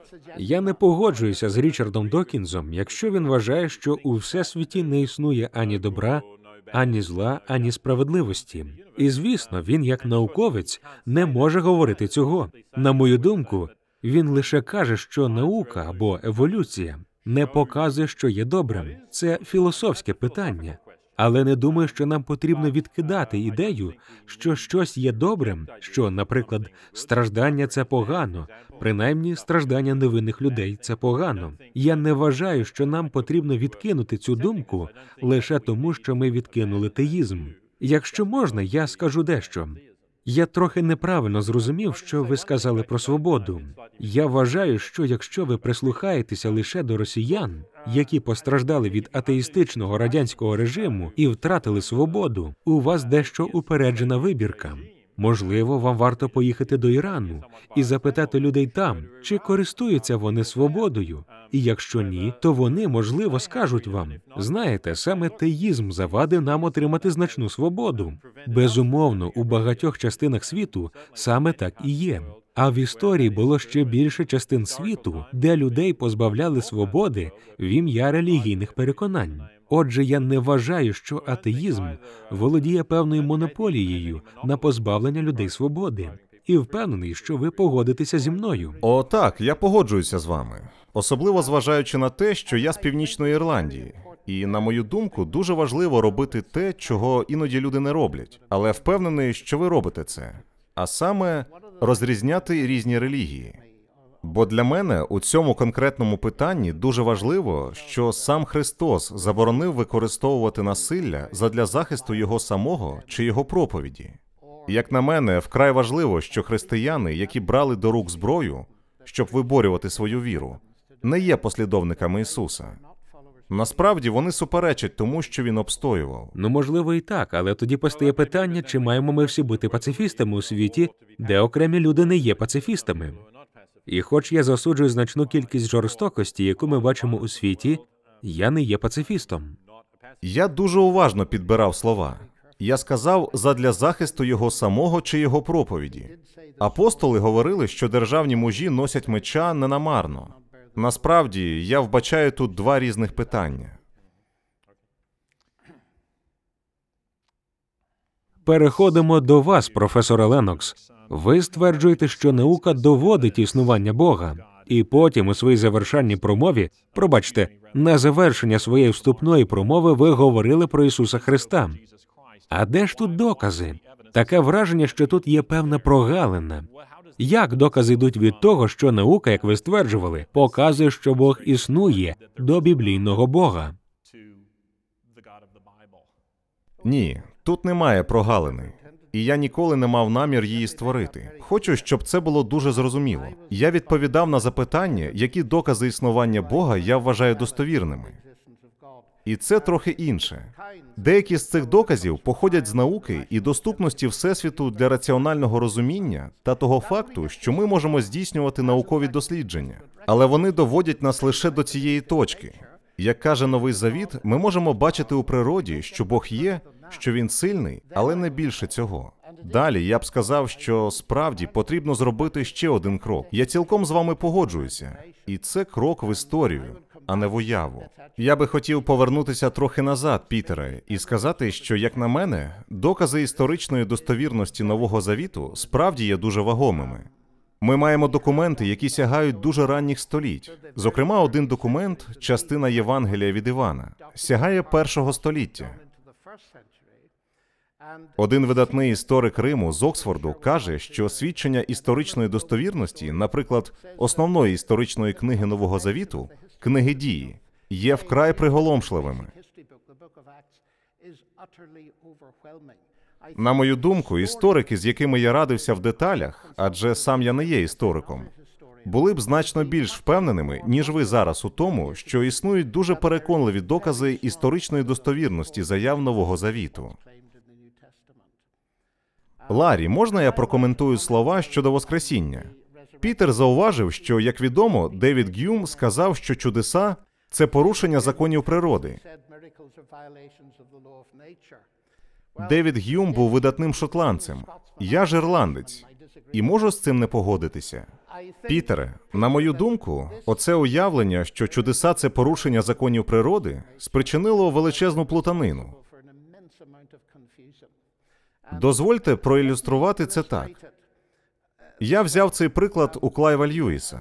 Я не погоджуюся з Річардом Докінзом, якщо він вважає, що у Всесвіті не існує ані добра, ані зла, ані справедливості. І, звісно, він, як науковець, не може говорити цього. На мою думку, він лише каже, що наука або еволюція не показує, що є добрим. Це філософське питання. Але не думаю, що нам потрібно відкидати ідею, що щось є добрим, що, наприклад, страждання – це погано, принаймні страждання невинних людей – це погано. Я не вважаю, що нам потрібно відкинути цю думку лише тому, що ми відкинули теїзм. Якщо можна, я скажу дещо. Я трохи неправильно зрозумів, що ви сказали про свободу. Я вважаю, що якщо ви прислухаєтеся лише до росіян, які постраждали від атеїстичного радянського режиму і втратили свободу, у вас дещо упереджена вибірка. Можливо, вам варто поїхати до Ірану і запитати людей там, чи користуються вони свободою. І якщо ні, то вони, можливо, скажуть вам, знаєте, саме теїзм завадив нам отримати значну свободу. Безумовно, у багатьох частинах світу саме так і є. А в історії було ще більше частин світу, де людей позбавляли свободи в ім'я релігійних переконань. Отже, я не вважаю, що атеїзм володіє певною монополією на позбавлення людей свободи. І впевнений, що ви погодитеся зі мною. О, так, я погоджуюся з вами. Особливо зважаючи на те, що я з Північної Ірландії. І, на мою думку, дуже важливо робити те, чого іноді люди не роблять. Але впевнений, що ви робите це. А саме розрізняти різні релігії. Бо для мене у цьому конкретному питанні дуже важливо, що сам Христос заборонив використовувати насилля задля захисту Його самого чи Його проповіді. Як на мене, вкрай важливо, що християни, які брали до рук зброю, щоб виборювати свою віру, не є послідовниками Ісуса. Насправді, вони суперечать тому, що Він обстоював. Ну, можливо, і так, але тоді постає питання, чи маємо ми всі бути пацифістами у світі, де окремі люди не є пацифістами. І хоч я засуджую значну кількість жорстокості, яку ми бачимо у світі, я не є пацифістом. Я дуже уважно підбирав слова. Я сказав, задля захисту його самого чи його проповіді. Апостоли говорили, що державні мужі носять меча ненамарно. Насправді, я вбачаю тут два різних питання. Переходимо до вас, професоре Леннокс. Ви стверджуєте, що наука доводить існування Бога, і потім у своїй завершальній промові, пробачте, на завершення своєї вступної промови ви говорили про Ісуса Христа. А де ж тут докази? Таке враження, що тут є певна прогалина. Як докази йдуть від того, що наука, як ви стверджували, показує, що Бог існує до біблійного Бога? Ні, тут немає прогалини. І я ніколи не мав намір її створити. Хочу, щоб це було дуже зрозуміло. Я відповідав на запитання, які докази існування Бога я вважаю достовірними. І це трохи інше. Деякі з цих доказів походять з науки і доступності Всесвіту для раціонального розуміння та того факту, що ми можемо здійснювати наукові дослідження. Але вони доводять нас лише до цієї точки. Як каже Новий Завіт, ми можемо бачити у природі, що Бог є, що Він сильний, але не більше цього. Далі я б сказав, що справді потрібно зробити ще один крок. Я цілком з вами погоджуюся. І це крок в історію, а не в уяву. Я би хотів повернутися трохи назад, Пітере, і сказати, що, як на мене, докази історичної достовірності Нового Завіту справді є дуже вагомими. Ми маємо документи, які сягають дуже ранніх століть. Зокрема, один документ, частина Євангелія від Івана, сягає першого століття. Один видатний історик Риму з Оксфорду каже, що свідчення історичної достовірності, наприклад, основної історичної книги Нового Завіту, книги Дії, є вкрай приголомшливими. На мою думку, історики, з якими я радився в деталях, адже сам я не є істориком, були б значно більш впевненими, ніж ви зараз у тому, що існують дуже переконливі докази історичної достовірності заяв Нового Завіту. Ларі, можна я прокоментую слова щодо Воскресіння? Пітер зауважив, що, як відомо, Девід Г'юм сказав, що чудеса – це порушення законів природи. Девід Г'юм був видатним шотландцем. Я ж ірландець. І можу з цим не погодитися. Пітере, на мою думку, оце уявлення, що чудеса – це порушення законів природи, спричинило величезну плутанину. Дозвольте проілюструвати це так. Я взяв цей приклад у Клайва Льюіса.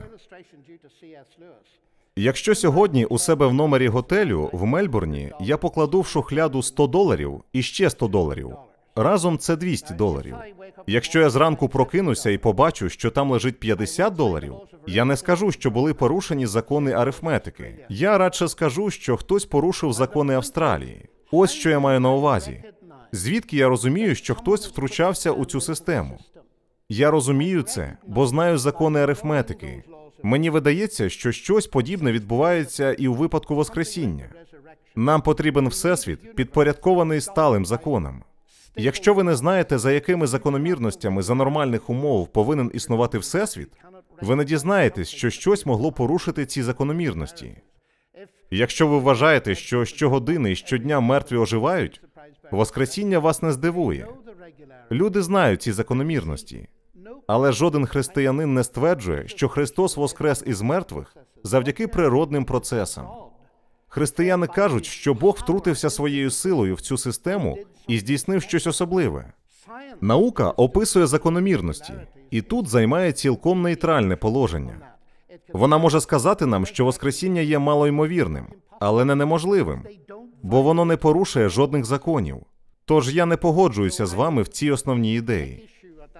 Якщо сьогодні у себе в номері готелю в Мельбурні я покладу в шухляду сто доларів і ще сто доларів, разом це двісті доларів. Якщо я зранку прокинуся і побачу, що там лежить п'ятдесят доларів, я не скажу, що були порушені закони арифметики. Я радше скажу, що хтось порушив закони Австралії. Ось що я маю на увазі. Звідки я розумію, що хтось втручався у цю систему? Я розумію це, бо знаю закони арифметики. Мені видається, що щось подібне відбувається і у випадку Воскресіння. Нам потрібен Всесвіт, підпорядкований сталим законам. Якщо ви не знаєте, за якими закономірностями за нормальних умов повинен існувати Всесвіт, ви не дізнаєтесь, що щось могло порушити ці закономірності. Якщо ви вважаєте, що щогодини і щодня мертві оживають, Воскресіння вас не здивує. Люди знають ці закономірності. Але жоден християнин не стверджує, що Христос воскрес із мертвих завдяки природним процесам. Християни кажуть, що Бог втрутився своєю силою в цю систему і здійснив щось особливе. Наука описує закономірності, і тут займає цілком нейтральне положення. Вона може сказати нам, що Воскресіння є малоймовірним, але не неможливим, бо воно не порушує жодних законів. Тож я не погоджуюся з вами в цій основній ідеї.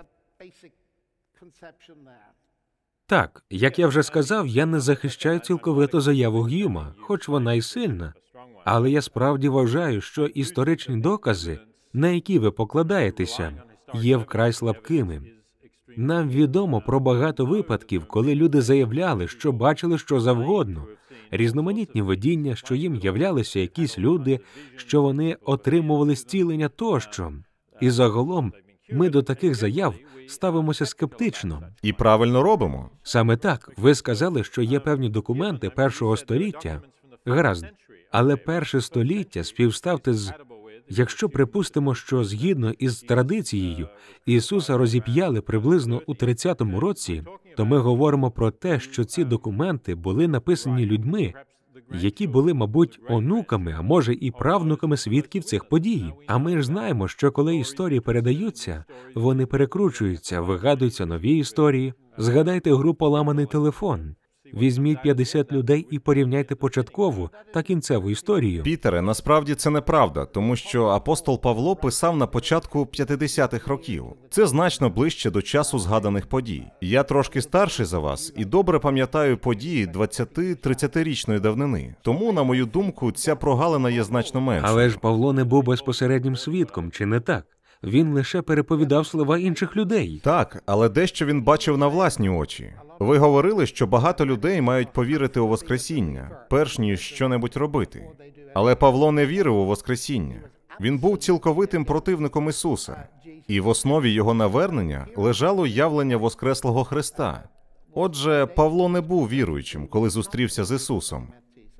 Так, як я вже сказав, я не захищаю цілковито заяву Г'юма, хоч вона й сильна. Але я справді вважаю, що історичні докази, на які ви покладаєтеся, є вкрай слабкими. Нам відомо про багато випадків, коли люди заявляли, що бачили що завгодно, різноманітні видіння, що їм являлися якісь люди, що вони отримували зцілення тощо. І загалом ми до таких заяв ставимося скептично. І правильно робимо. Саме так, ви сказали, що є певні документи першого століття. Гаразд. Але перше століття співставте з... Якщо припустимо, що згідно із традицією Ісуса розіп'яли приблизно у тридцятому році, то ми говоримо про те, що ці документи були написані людьми, які були, мабуть, онуками, а може і правнуками свідків цих подій. А ми ж знаємо, що коли історії передаються, вони перекручуються, вигадуються нові історії. Згадайте гру «Поламаний телефон». Візьміть п'ятдесят людей і порівняйте початкову та кінцеву історію. Пітере, насправді це неправда, тому що апостол Павло писав на початку п'ятдесятих років. Це значно ближче до часу згаданих подій. Я трошки старший за вас і добре пам'ятаю події двадцяти-тридцятирічної давнини. Тому, на мою думку, ця прогалина є значно меншою. Але ж Павло не був безпосереднім свідком, чи не так? Він лише переповідав слова інших людей. Так, але дещо він бачив на власні очі. Ви говорили, що багато людей мають повірити у Воскресіння, перш ніж що-небудь робити. Але Павло не вірив у Воскресіння. Він був цілковитим противником Ісуса. І в основі його навернення лежало явлення Воскреслого Христа. Отже, Павло не був віруючим, коли зустрівся з Ісусом.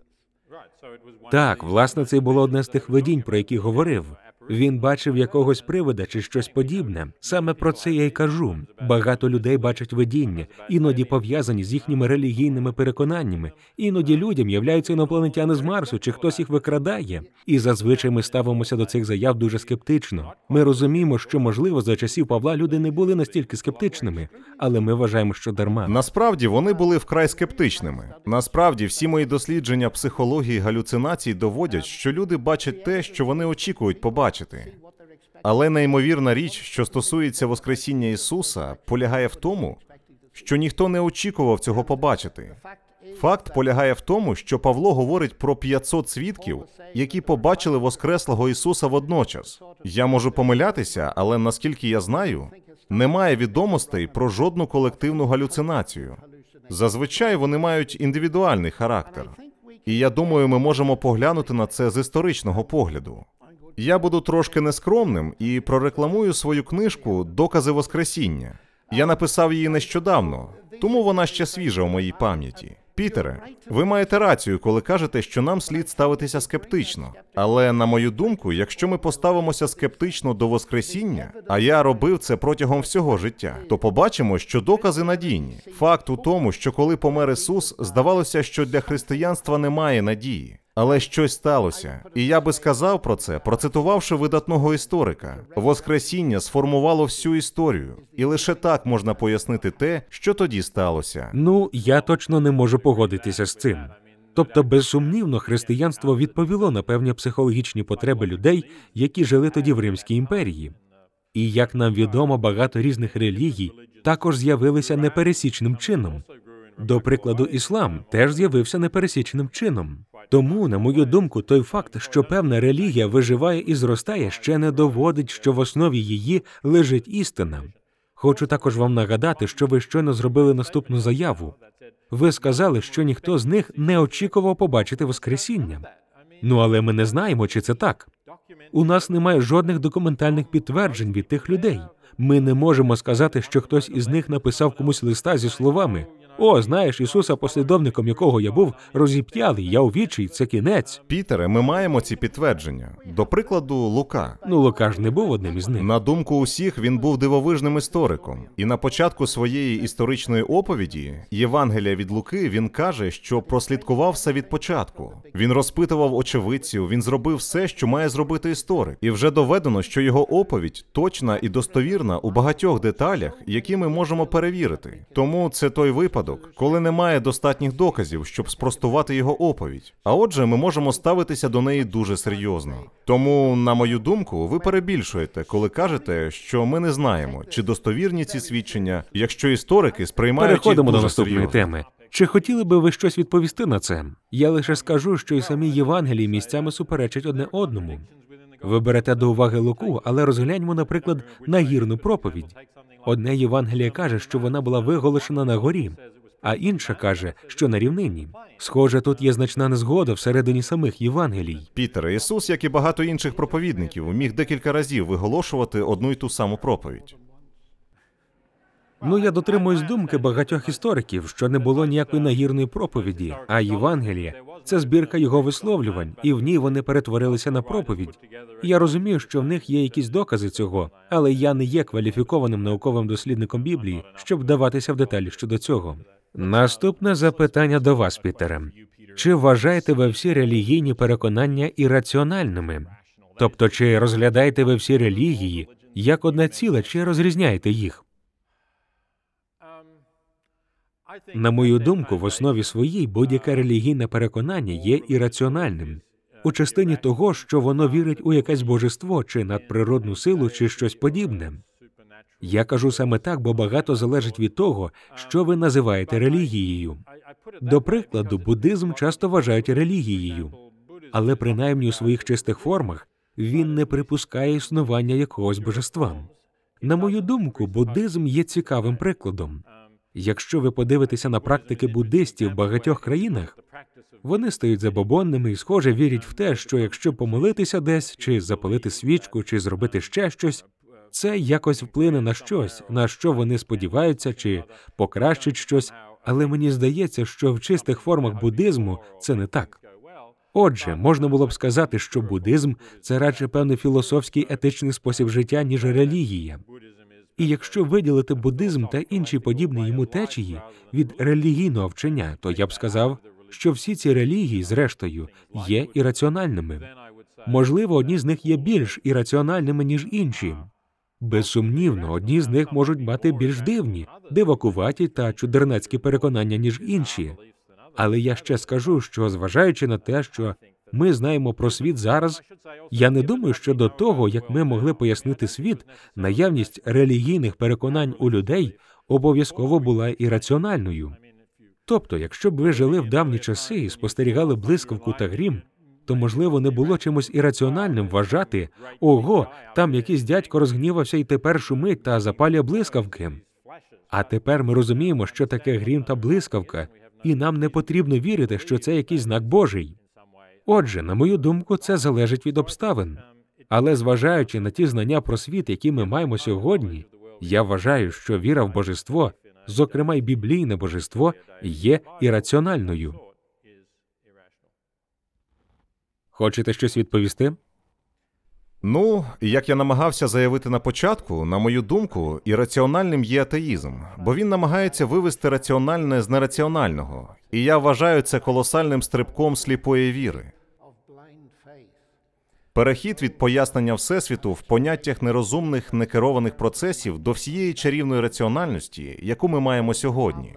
Так, власне, це й було одне з тих видінь, про які говорив. Він бачив якогось привида чи щось подібне. Саме про це я й кажу. Багато людей бачать видіння, іноді пов'язані з їхніми релігійними переконаннями. Іноді людям являються інопланетяни з Марсу, чи хтось їх викрадає. І зазвичай ми ставимося до цих заяв дуже скептично. Ми розуміємо, що, можливо, за часів Павла люди не були настільки скептичними, але ми вважаємо, що дарма. Насправді, вони були вкрай скептичними. Насправді, всі мої дослідження психології галюцинацій доводять, що люди бачать те, що вони очікують побачити. Але неймовірна річ, що стосується Воскресіння Ісуса, полягає в тому, що ніхто не очікував цього побачити. Факт полягає в тому, що Павло говорить про п'ятсот свідків, які побачили Воскреслого Ісуса водночас. Я можу помилятися, але наскільки я знаю, немає відомостей про жодну колективну галюцинацію. Зазвичай вони мають індивідуальний характер. І я думаю, ми можемо поглянути на це з історичного погляду. Я буду трошки нескромним і прорекламую свою книжку «Докази Воскресіння». Я написав її нещодавно, тому вона ще свіжа у моїй пам'яті. Пітере, ви маєте рацію, коли кажете, що нам слід ставитися скептично. Але, на мою думку, якщо ми поставимося скептично до Воскресіння, а я робив це протягом всього життя, то побачимо, що докази надійні. Факт у тому, що коли помер Ісус, здавалося, що для християнства немає надії. Але щось сталося. І я би сказав про це, процитувавши видатного історика. Воскресіння сформувало всю історію. І лише так можна пояснити те, що тоді сталося. Ну, я точно не можу погодитися з цим. Тобто, безсумнівно, християнство відповіло на певні психологічні потреби людей, які жили тоді в Римській імперії. І, як нам відомо, багато різних релігій також з'явилися непересічним чином. До прикладу, іслам теж з'явився непересічним чином. Тому, на мою думку, той факт, що певна релігія виживає і зростає, ще не доводить, що в основі її лежить істина. Хочу також вам нагадати, що ви щойно зробили наступну заяву. Ви сказали, що ніхто з них не очікував побачити Воскресіння. Ну, але ми не знаємо, чи це так. У нас немає жодних документальних підтверджень від тих людей. Ми не можемо сказати, що хтось із них написав комусь листа зі словами: «О, знаєш, Ісуса, послідовником якого я був, розіп'яли, я у вічі, це кінець». Пітере, ми маємо ці підтвердження. До прикладу, Лука. Ну, Лука ж не був одним із них. На думку усіх, він був дивовижним істориком. І на початку своєї історичної оповіді, Євангелія від Луки, він каже, що прослідкував все від початку. Він розпитував очевидців, він зробив все, що має зробити історик. І вже доведено, що його оповідь точна і достовірна у багатьох деталях, які ми можемо перевірити. Тому це той випадок, коли немає достатніх доказів, щоб спростувати його оповідь. А отже, ми можемо ставитися до неї дуже серйозно. Тому, на мою думку, ви перебільшуєте, коли кажете, що ми не знаємо, чи достовірні ці свідчення, якщо історики сприймають їх Переходимо дуже до наступної серйозно. теми. Чи хотіли би ви щось відповісти на це? Я лише скажу, що і самі Євангелії місцями суперечать одне одному. Ви берете до уваги Луку, але розгляньмо, наприклад, нагірну проповідь. Одне Євангеліє каже, що вона була виголошена на горі, а інша каже, що на рівнині. Схоже, тут є значна незгода всередині самих Євангелій. Пітере, Ісус, як і багато інших проповідників, міг декілька разів виголошувати одну й ту саму проповідь. Ну, я дотримуюсь думки багатьох істориків, що не було ніякої нагірної проповіді, а Євангеліє – це збірка його висловлювань, і в ній вони перетворилися на проповідь. Я розумію, що в них є якісь докази цього, але я не є кваліфікованим науковим дослідником Біблії, щоб вдаватися в деталі щодо цього. Наступне запитання до вас, Пітере. Чи вважаєте ви всі релігійні переконання ірраціональними? Тобто, чи розглядаєте ви всі релігії як одне ціле, чи розрізняєте їх? На мою думку, в основі своїй будь-яке релігійне переконання є ірраціональним. У частині того, що воно вірить у якесь божество, чи надприродну силу, чи щось подібне. Я кажу саме так, бо багато залежить від того, що ви називаєте релігією. До прикладу, буддизм часто вважають релігією, але принаймні у своїх чистих формах він не припускає існування якогось божества. На мою думку, буддизм є цікавим прикладом. Якщо ви подивитеся на практики буддистів в багатьох країнах, вони стають забобонними і, схоже, вірять в те, що якщо помолитися десь, чи запалити свічку, чи зробити ще щось, це якось вплине на щось, на що вони сподіваються, чи покращить щось, але мені здається, що в чистих формах буддизму це не так. Отже, можна було б сказати, що буддизм – це радше певний філософський етичний спосіб життя, ніж релігія. І якщо виділити буддизм та інші подібні йому течії від релігійного вчення, то я б сказав, що всі ці релігії, зрештою, є ірраціональними. Можливо, одні з них є більш ірраціональними, ніж інші. Безсумнівно, одні з них можуть мати більш дивні, дивакуваті та чудернацькі переконання, ніж інші. Але я ще скажу, що, зважаючи на те, що ми знаємо про світ зараз, я не думаю, що до того, як ми могли пояснити світ, наявність релігійних переконань у людей обов'язково була ірраціональною. Тобто, якщо б ви жили в давні часи і спостерігали блискавку та грім, то, можливо, не було чимось ірраціональним вважати: «Ого, там якийсь дядько розгнівався і тепер шумить та запалює блискавки». А тепер ми розуміємо, що таке грім та блискавка, і нам не потрібно вірити, що це якийсь знак Божий. Отже, на мою думку, це залежить від обставин. Але зважаючи на ті знання про світ, які ми маємо сьогодні, я вважаю, що віра в божество, зокрема й біблійне божество, є ірраціональною. Хочете щось відповісти? Ну, як я намагався заявити на початку, на мою думку, ірраціональним є атеїзм, бо він намагається вивести раціональне з нераціонального. І я вважаю це колосальним стрибком сліпої віри. Перехід від пояснення Всесвіту в поняттях нерозумних, некерованих процесів до всієї чарівної раціональності, яку ми маємо сьогодні.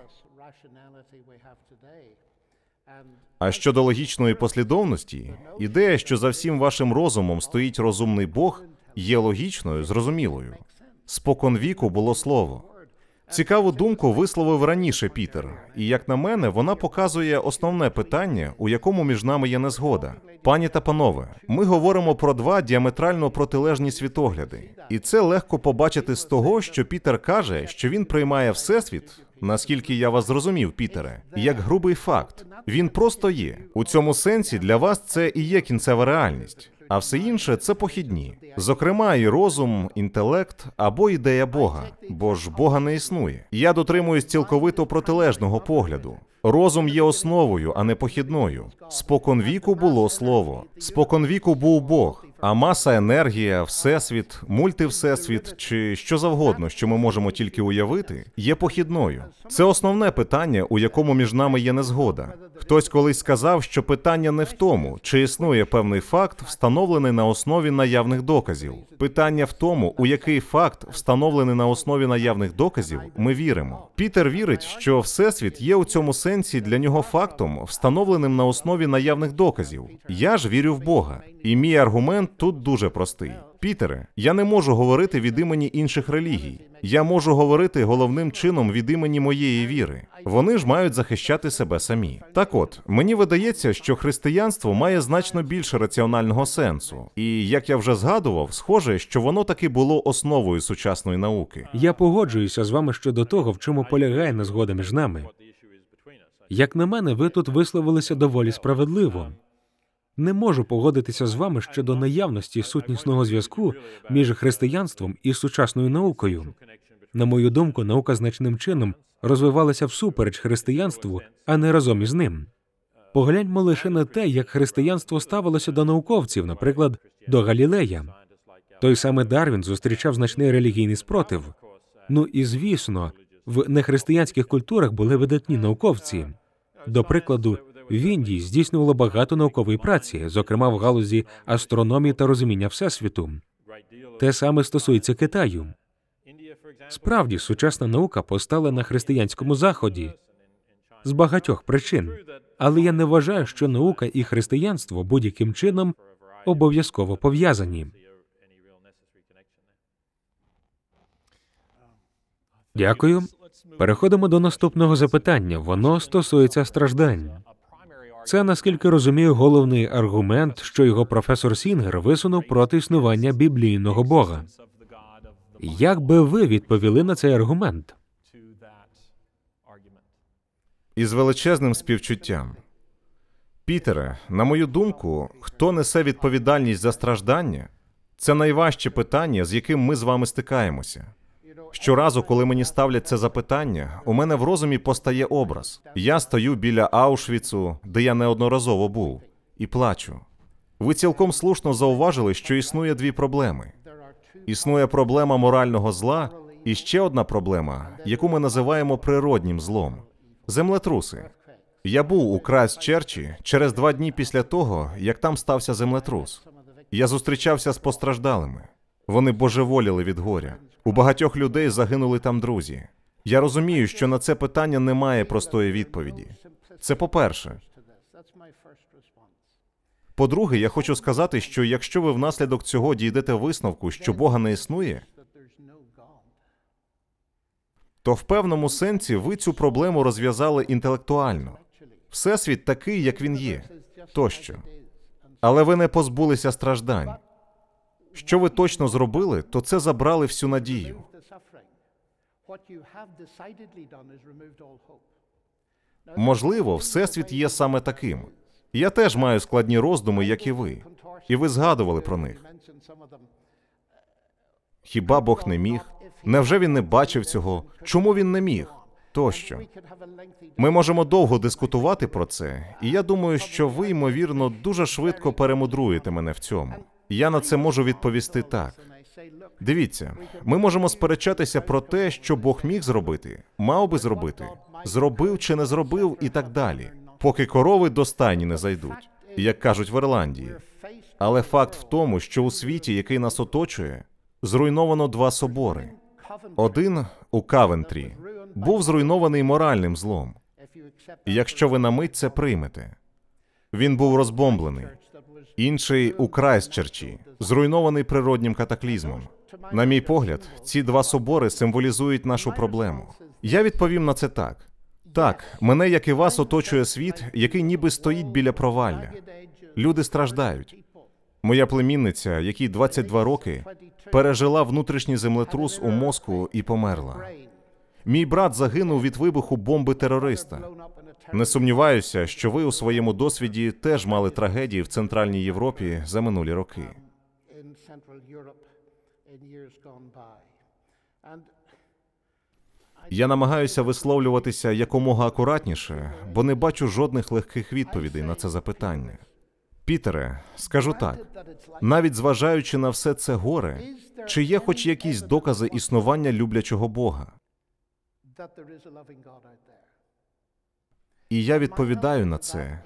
А щодо логічної послідовності, ідея, що за всім вашим розумом стоїть розумний Бог, є логічною, зрозумілою. Споконвіку було слово. Цікаву думку висловив раніше Пітер, і, як на мене, вона показує основне питання, у якому між нами є незгода. Пані та панове, ми говоримо про два діаметрально протилежні світогляди. І це легко побачити з того, що Пітер каже, що він приймає Всесвіт, наскільки я вас зрозумів, Пітере, як грубий факт. Він просто є. У цьому сенсі для вас це і є кінцева реальність. А все інше – це похідні. Зокрема, і розум, інтелект або ідея Бога. Бо ж Бога не існує. Я дотримуюсь цілковито протилежного погляду. Розум є основою, а не похідною. Споконвіку було слово. Споконвіку був Бог. А маса, енергія, всесвіт, мультивсесвіт чи що завгодно, що ми можемо тільки уявити, є похідною. Це основне питання, у якому між нами є незгода. Хтось колись сказав, що питання не в тому, чи існує певний факт, встановлений на основі наявних доказів. Питання в тому, у який факт, встановлений на основі наявних доказів, ми віримо. Пітер вірить, що Всесвіт є у цьому сенсі для нього фактом, встановленим на основі наявних доказів. Я ж вірю в Бога. І мій аргумент тут дуже простий. Пітере, я не можу говорити від імені інших релігій. Я можу говорити головним чином від імені моєї віри. Вони ж мають захищати себе самі. Так от, мені видається, що християнство має значно більше раціонального сенсу. І, як я вже згадував, схоже, що воно таки було основою сучасної науки. Я погоджуюся з вами щодо того, в чому полягає незгода між нами. Як на мене, ви тут висловилися доволі справедливо. Не можу погодитися з вами щодо наявності сутнісного зв'язку між християнством і сучасною наукою. На мою думку, наука значним чином розвивалася всупереч християнству, а не разом із ним. Погляньмо лише на те, як християнство ставилося до науковців, наприклад, до Галілея. Той самий Дарвін зустрічав значний релігійний спротив. Ну і, звісно, в нехристиянських культурах були видатні науковці. До прикладу, в Індії здійснювало багато наукової праці, зокрема в галузі астрономії та розуміння Всесвіту. Те саме стосується Китаю. Справді, сучасна наука постала на християнському Заході з багатьох причин. Але я не вважаю, що наука і християнство будь-яким чином обов'язково пов'язані. Дякую. Переходимо до наступного запитання. Воно стосується страждань. Це, наскільки розумію, головний аргумент, що його професор Сінгер висунув проти існування біблійного Бога. Як би ви відповіли на цей аргумент? Із величезним співчуттям. Пітере, на мою думку, хто несе відповідальність за страждання, це найважче питання, з яким ми з вами стикаємося. Щоразу, коли мені ставлять це запитання, у мене в розумі постає образ. Я стою біля Аушвіцу, де я неодноразово був, і плачу. Ви цілком слушно зауважили, що існує дві проблеми. Існує проблема морального зла і ще одна проблема, яку ми називаємо природнім злом – землетруси. Я був у Крайстчерчі через два дні після того, як там стався землетрус. Я зустрічався з постраждалими. Вони божеволіли від горя. У багатьох людей загинули там друзі. Я розумію, що на це питання немає простої відповіді. Це по-перше. По-друге, я хочу сказати, що якщо ви внаслідок цього дійдете висновку, що Бога не існує, то в певному сенсі ви цю проблему розв'язали інтелектуально. Всесвіт такий, як він є, тощо. Але ви не позбулися страждань. Що ви точно зробили, то це забрали всю надію. Можливо, Всесвіт є саме таким. Я теж маю складні роздуми, як і ви. І ви згадували про них. Хіба Бог не міг? Невже він не бачив цього? Чому він не міг? Тощо. Ми можемо довго дискутувати про це, і я думаю, що ви, ймовірно, дуже швидко перемудруєте мене в цьому. Я на це можу відповісти так. Дивіться, ми можемо сперечатися про те, що Бог міг зробити, мав би зробити, зробив чи не зробив і так далі, поки корови до стайні не зайдуть, як кажуть в Ірландії. Але факт в тому, що у світі, який нас оточує, зруйновано два собори. Один у Кавентрі був зруйнований моральним злом. І якщо ви на мить це приймете. Він був розбомблений. Інший у Крайстчерчі, зруйнований природнім катаклізмом. На мій погляд, ці два собори символізують нашу проблему. Я відповім на це так. Так, мене, як і вас, оточує світ, який ніби стоїть біля провалля. Люди страждають. Моя племінниця, якій двадцять два роки, пережила внутрішній землетрус у мозку і померла. Мій брат загинув від вибуху бомби терориста. Не сумніваюся, що ви у своєму досвіді теж мали трагедії в Центральній Європі за минулі роки. Я намагаюся висловлюватися якомога акуратніше, бо не бачу жодних легких відповідей на це запитання. Пітере, скажу так, навіть зважаючи на все це горе, чи є хоч якісь докази існування люблячого Бога? І я відповідаю на це.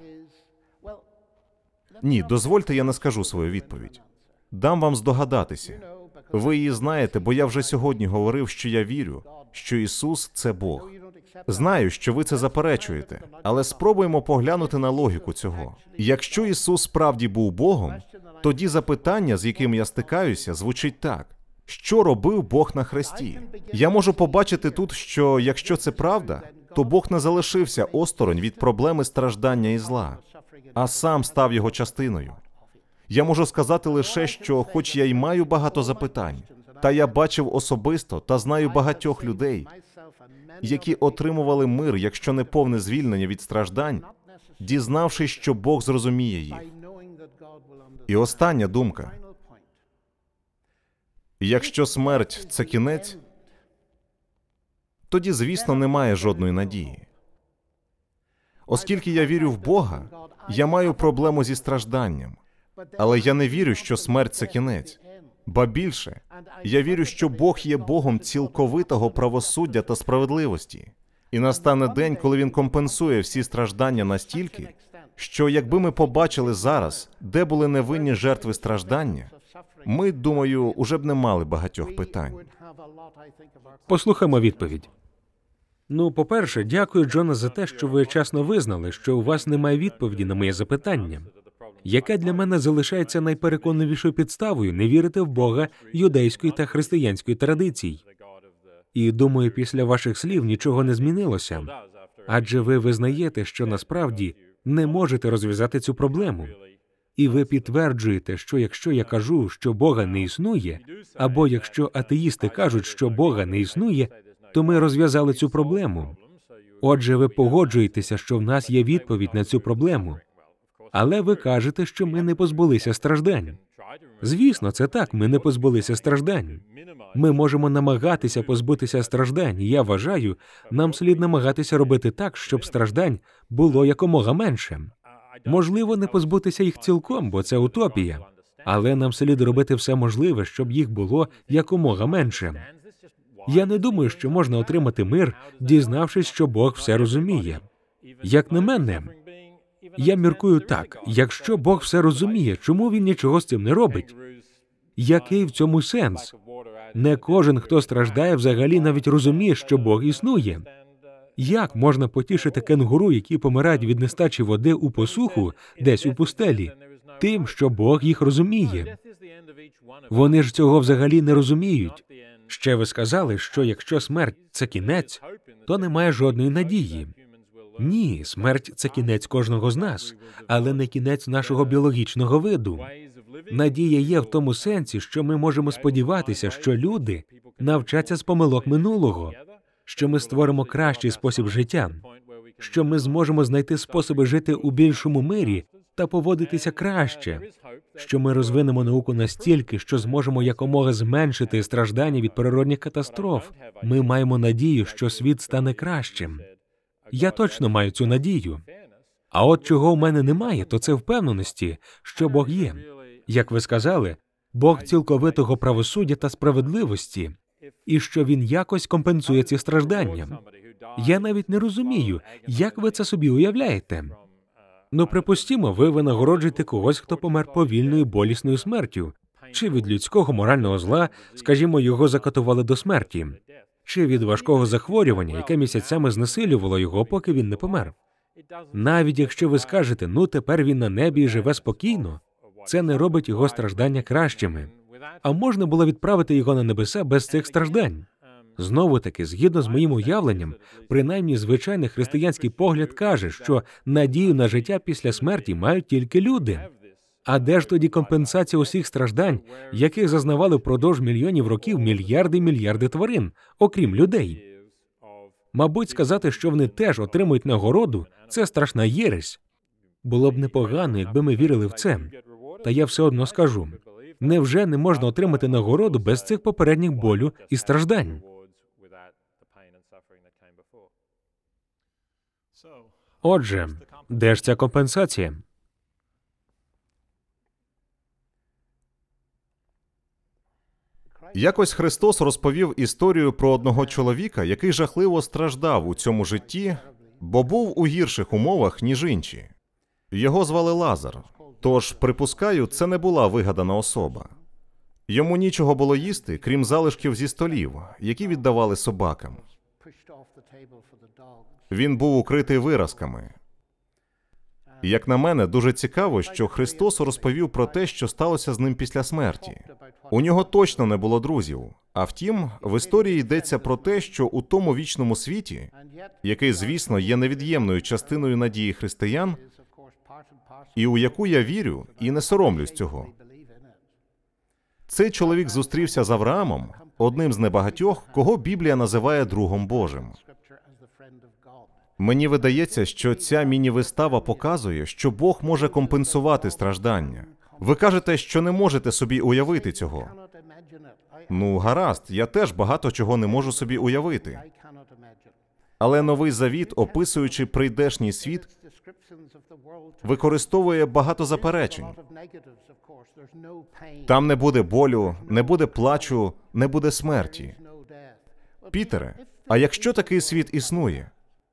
Ні, дозвольте, я не скажу свою відповідь. Дам вам здогадатися. Ви її знаєте, бо я вже сьогодні говорив, що я вірю, що Ісус – це Бог. Знаю, що ви це заперечуєте, але спробуємо поглянути на логіку цього. Якщо Ісус справді був Богом, тоді запитання, з яким я стикаюся, звучить так. Що робив Бог на хресті? Я можу побачити тут, що якщо це правда, то Бог не залишився осторонь від проблеми страждання і зла, а сам став його частиною. Я можу сказати лише, що хоч я й маю багато запитань, та я бачив особисто та знаю багатьох людей, які отримували мир, якщо не повне звільнення від страждань, дізнавшись, що Бог зрозуміє їх. І остання думка. Якщо смерть – це кінець, тоді, звісно, немає жодної надії. Оскільки я вірю в Бога, я маю проблему зі стражданням. Але я не вірю, що смерть – це кінець. Ба більше, я вірю, що Бог є Богом цілковитого правосуддя та справедливості. І настане день, коли Він компенсує всі страждання настільки, що якби ми побачили зараз, де були невинні жертви страждання, ми, думаю, уже б не мали багатьох питань. Послухаймо відповідь. Ну, по-перше, дякую, Джона, за те, що ви чесно визнали, що у вас немає відповіді на моє запитання, яке для мене залишається найпереконливішою підставою не вірити в Бога юдейської та християнської традицій. І, думаю, після ваших слів нічого не змінилося. Адже ви визнаєте, що насправді не можете розв'язати цю проблему. І ви підтверджуєте, що якщо я кажу, що Бога не існує, або якщо атеїсти кажуть, що Бога не існує, то ми розв'язали цю проблему. Отже, ви погоджуєтеся, що в нас є відповідь на цю проблему. Але ви кажете, що ми не позбулися страждань. Звісно, це так, ми не позбулися страждань. Ми можемо намагатися позбутися страждань, і я вважаю, нам слід намагатися робити так, щоб страждань було якомога менше. Можливо, не позбутися їх цілком, бо це утопія. Але нам слід робити все можливе, щоб їх було якомога менше. Я не думаю, що можна отримати мир, дізнавшись, що Бог все розуміє. Як на мене, я міркую так, якщо Бог все розуміє, чому Він нічого з цим не робить? Який в цьому сенс? Не кожен, хто страждає, взагалі навіть розуміє, що Бог існує. Як можна потішити кенгуру, які помирають від нестачі води у посуху, десь у пустелі, тим, що Бог їх розуміє? Вони ж цього взагалі не розуміють. Ще ви сказали, що якщо смерть – це кінець, то немає жодної надії. Ні, смерть – це кінець кожного з нас, але не кінець нашого біологічного виду. Надія є в тому сенсі, що ми можемо сподіватися, що люди навчаться з помилок минулого, що ми створимо кращий спосіб життя, що ми зможемо знайти способи жити у більшому мирі та поводитися краще, що ми розвинемо науку настільки, що зможемо якомога зменшити страждання від природних катастроф. Ми маємо надію, що світ стане кращим. Я точно маю цю надію. А от чого в мене немає, то це впевненості, що Бог є. Як ви сказали, Бог цілковитого правосуддя та справедливості, і що Він якось компенсує ці страждання. Я навіть не розумію, як ви це собі уявляєте. Ну, припустімо, ви винагороджуєте когось, хто помер повільною болісною смертю, чи від людського морального зла, скажімо, його закатували до смерті, чи від важкого захворювання, яке місяцями знесилювало його, поки він не помер. Навіть якщо ви скажете, ну, тепер він на небі і живе спокійно, це не робить його страждання кращими. А можна було відправити його на небеса без цих страждань. Знову-таки, згідно з моїм уявленням, принаймні звичайний християнський погляд каже, що надію на життя після смерті мають тільки люди. А де ж тоді компенсація усіх страждань, яких зазнавали впродовж мільйонів років мільярди й мільярди тварин, окрім людей? Мабуть, сказати, що вони теж отримують нагороду – це страшна єресь. Було б непогано, якби ми вірили в це. Та я все одно скажу. Невже не можна отримати нагороду без цих попередніх болю і страждань? Отже, де ж ця компенсація? Якось Христос розповів історію про одного чоловіка, який жахливо страждав у цьому житті, бо був у гірших умовах, ніж інші. Його звали Лазар. Тож, припускаю, це не була вигадана особа. Йому нічого було їсти, крім залишків зі столів, які віддавали собакам. Він був укритий виразками. Як на мене, дуже цікаво, що Христос розповів про те, що сталося з ним після смерті. У нього точно не було друзів. А втім, в історії йдеться про те, що у тому вічному світі, який, звісно, є невід'ємною частиною надії християн, і у яку я вірю і не соромлюсь цього. Цей чоловік зустрівся з Авраамом, одним з небагатьох, кого Біблія називає другом Божим. Мені видається, що ця міні-вистава показує, що Бог може компенсувати страждання. Ви кажете, що не можете собі уявити цього. Ну, гаразд, я теж багато чого не можу собі уявити. Але Новий Завіт, описуючи прийдешній світ, використовує багато заперечень. Там не буде болю, не буде плачу, не буде смерті. Пітере, а якщо такий світ існує,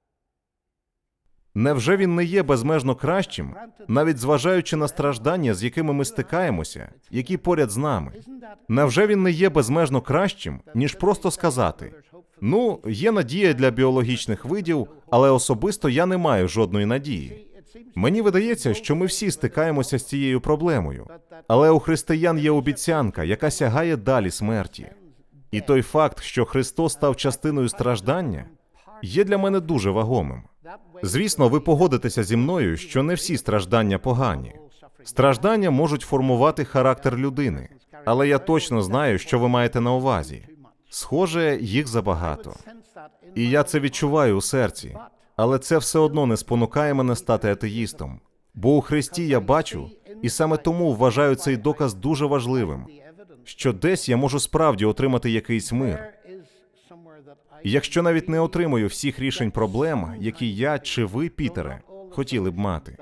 невже він не є безмежно кращим, навіть зважаючи на страждання, з якими ми стикаємося, які поряд з нами? Невже він не є безмежно кращим, ніж просто сказати: «Ну, є надія для біологічних видів, але особисто я не маю жодної надії». Мені видається, що ми всі стикаємося з цією проблемою. Але у християн є обіцянка, яка сягає далі смерті. І той факт, що Христос став частиною страждання, є для мене дуже вагомим. Звісно, ви погодитеся зі мною, що не всі страждання погані. Страждання можуть формувати характер людини. Але я точно знаю, що ви маєте на увазі. Схоже, їх забагато. І я це відчуваю у серці. Але це все одно не спонукає мене стати атеїстом. Бо у Христі я бачу, і саме тому вважаю цей доказ дуже важливим, що десь я можу справді отримати якийсь мир. І якщо навіть не отримую всіх рішень проблем, які я чи ви, Пітере, хотіли б мати.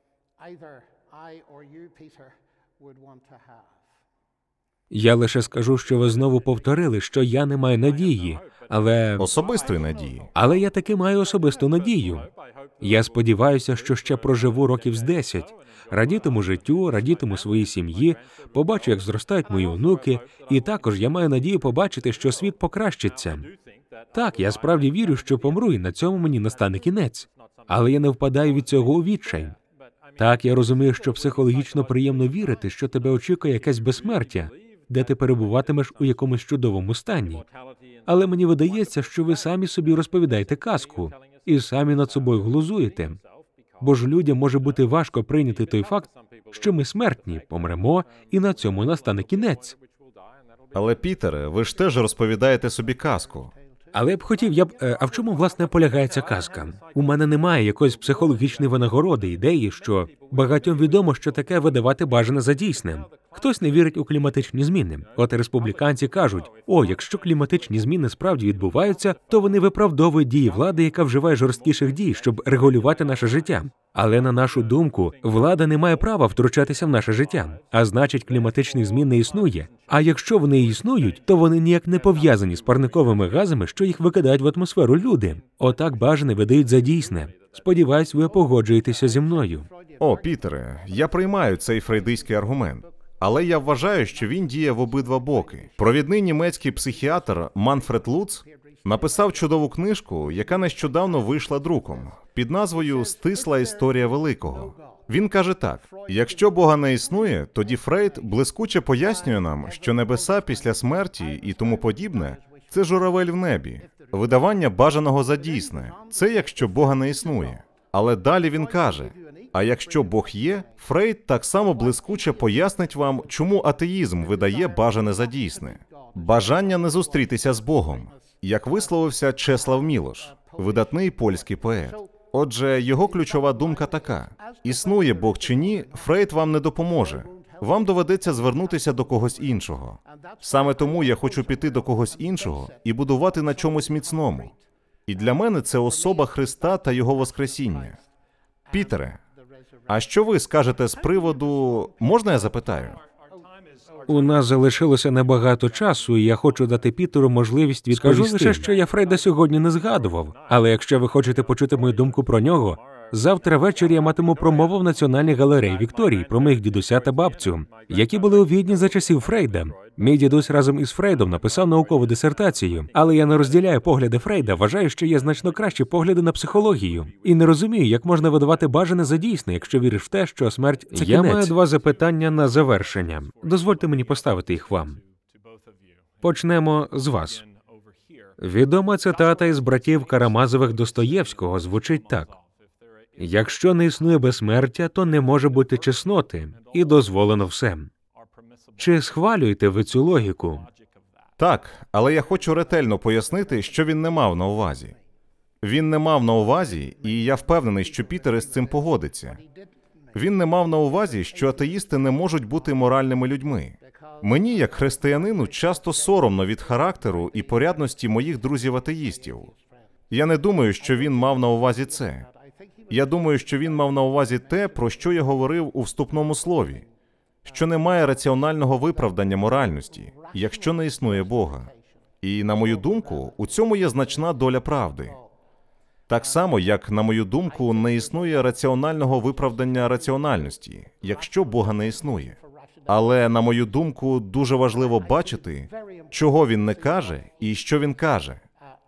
Я лише скажу, що ви знову повторили, що я не маю надії, але... Особистої надії. Але я таки маю особисту надію. Я сподіваюся, що ще проживу років з десять, радітиму життю, радітиму своїй сім'ї, побачу, як зростають мої онуки, і також я маю надію побачити, що світ покращиться. Так, я справді вірю, що помру, і на цьому мені настане кінець. Але я не впадаю від цього у відчай. Так, я розумію, що психологічно приємно вірити, що тебе очікує якесь безсмертя, де ти перебуватимеш у якомусь чудовому стані. Але мені видається, що ви самі собі розповідаєте казку і самі над собою глузуєте. Бо ж людям може бути важко прийняти той факт, що ми смертні, помремо, і на цьому настане кінець. Але, Пітере, ви ж теж розповідаєте собі казку. Але я б хотів, я б... е, А в чому, власне, полягає ця казка? У мене немає якоїсь психологічної винагороди, ідеї, що багатьом відомо, що таке видавати бажане за дійсне. Хтось не вірить у кліматичні зміни. От республіканці кажуть: о, якщо кліматичні зміни справді відбуваються, то вони виправдовують дії влади, яка вживає жорсткіших дій, щоб регулювати наше життя. Але, на нашу думку, влада не має права втручатися в наше життя. А значить, кліматичних змін не існує. А якщо вони і існують, то вони ніяк не пов'язані з парниковими газами, що їх викидають в атмосферу люди. Отак бажане видають за дійсне. Сподіваюсь, ви погоджуєтеся зі мною. О, Пітере, я приймаю цей фрейдистський аргумент. Але я вважаю, що він діє в обидва боки. Провідний німецький психіатр Манфред Луц написав чудову книжку, яка нещодавно вийшла друком, під назвою «Стисла історія великого». Він каже так: якщо Бога не існує, тоді Фрейд блискуче пояснює нам, що небеса після смерті і тому подібне – це журавель в небі, видавання бажаного за дійсне. Це якщо Бога не існує. Але далі він каже: а якщо Бог є, Фрейд так само блискуче пояснить вам, чому атеїзм видає бажане за дійсне. Бажання не зустрітися з Богом, як висловився Чеслав Мілош, видатний польський поет. Отже, його ключова думка така: існує Бог чи ні, Фрейд вам не допоможе. Вам доведеться звернутися до когось іншого. Саме тому я хочу піти до когось іншого і будувати на чомусь міцному. І для мене це особа Христа та Його Воскресіння. Пітере, а що ви скажете з приводу... Можна я запитаю? У нас залишилося небагато часу, і я хочу дати Пітеру можливість відповісти. Скажу лише, що я Фрейда сьогодні не згадував. Але якщо ви хочете почути мою думку про нього, завтра ввечері я матиму промову в Національній галереї Вікторії про моїх дідуся та бабцю, які були у Відні за часів Фрейда. Мій дідусь разом із Фрейдом написав наукову дисертацію, але я не розділяю погляди Фрейда, вважаю, що є значно кращі погляди на психологію. І не розумію, як можна видавати бажане за дійсне, якщо віриш в те, що смерть – це кінець. Я маю два запитання на завершення. Дозвольте мені поставити їх вам. Почнемо з вас. Відома цитата із братів Карамазових Достоєвського звучить так: «Якщо не існує безсмертя, то не може бути чесноти, і дозволено все». Чи схвалюєте ви цю логіку? Так, але я хочу ретельно пояснити, що він не мав на увазі. Він не мав на увазі, і я впевнений, що Пітер із цим погодиться. Він не мав на увазі, що атеїсти не можуть бути моральними людьми. Мені, як християнину, часто соромно від характеру і порядності моїх друзів-атеїстів. Я не думаю, що він мав на увазі це. Я думаю, що він мав на увазі те, про що я говорив у вступному слові, що немає раціонального виправдання моральності, якщо не існує Бога. І, на мою думку, у цьому є значна доля правди. Так само, як, на мою думку, не існує раціонального виправдання раціональності, якщо Бога не існує. Але, на мою думку, дуже важливо бачити, чого він не каже і що він каже.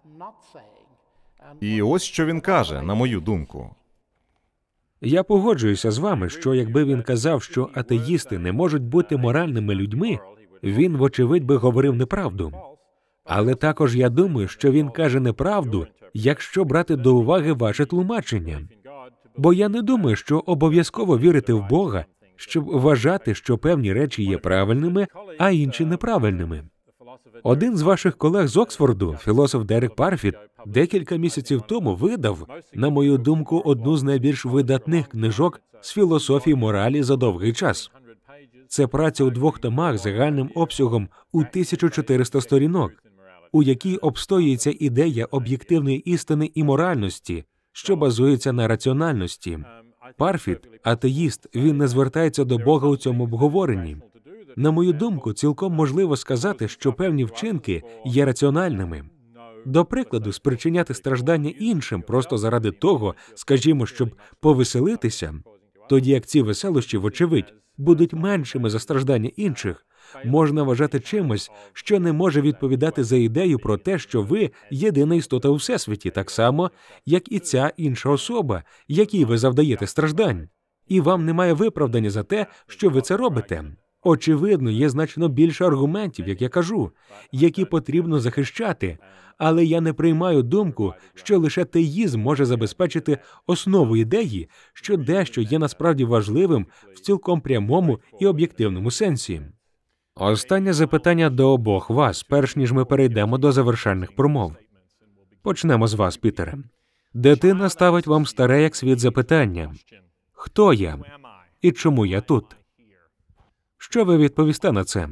І ось що він каже, на мою думку. Я погоджуюся з вами, що якби він казав, що атеїсти не можуть бути моральними людьми, він, вочевидь, би говорив неправду. Але також я думаю, що він каже неправду, якщо брати до уваги ваше тлумачення. Бо я не думаю, що обов'язково вірити в Бога, щоб вважати, що певні речі є правильними, а інші неправильними. Один з ваших колег з Оксфорду, філософ Дерек Парфіт, декілька місяців тому видав, на мою думку, одну з найбільш видатних книжок з філософії моралі за довгий час. Це праця у двох томах загальним обсягом у тисячу чотириста сторінок, у якій обстоюється ідея об'єктивної істини і моральності, що базується на раціональності. Парфіт, атеїст, він не звертається до Бога у цьому обговоренні. На мою думку, цілком можливо сказати, що певні вчинки є раціональними. До прикладу, спричиняти страждання іншим просто заради того, скажімо, щоб повеселитися, тоді як ці веселощі, вочевидь, будуть меншими за страждання інших, можна вважати чимось, що не може відповідати за ідею про те, що ви єдина істота у всесвіті, так само, як і ця інша особа, якій ви завдаєте страждань. І вам немає виправдання за те, що ви це робите. Очевидно, є значно більше аргументів, як я кажу, які потрібно захищати, але я не приймаю думку, що лише теїзм може забезпечити основу ідеї, що дещо є насправді важливим в цілком прямому і об'єктивному сенсі. Останнє запитання до обох вас, перш ніж ми перейдемо до завершальних промов. Почнемо з вас, Пітере. Дитина ставить вам старе як світ запитання. Хто я? І чому я тут? Що ви відповісте на це?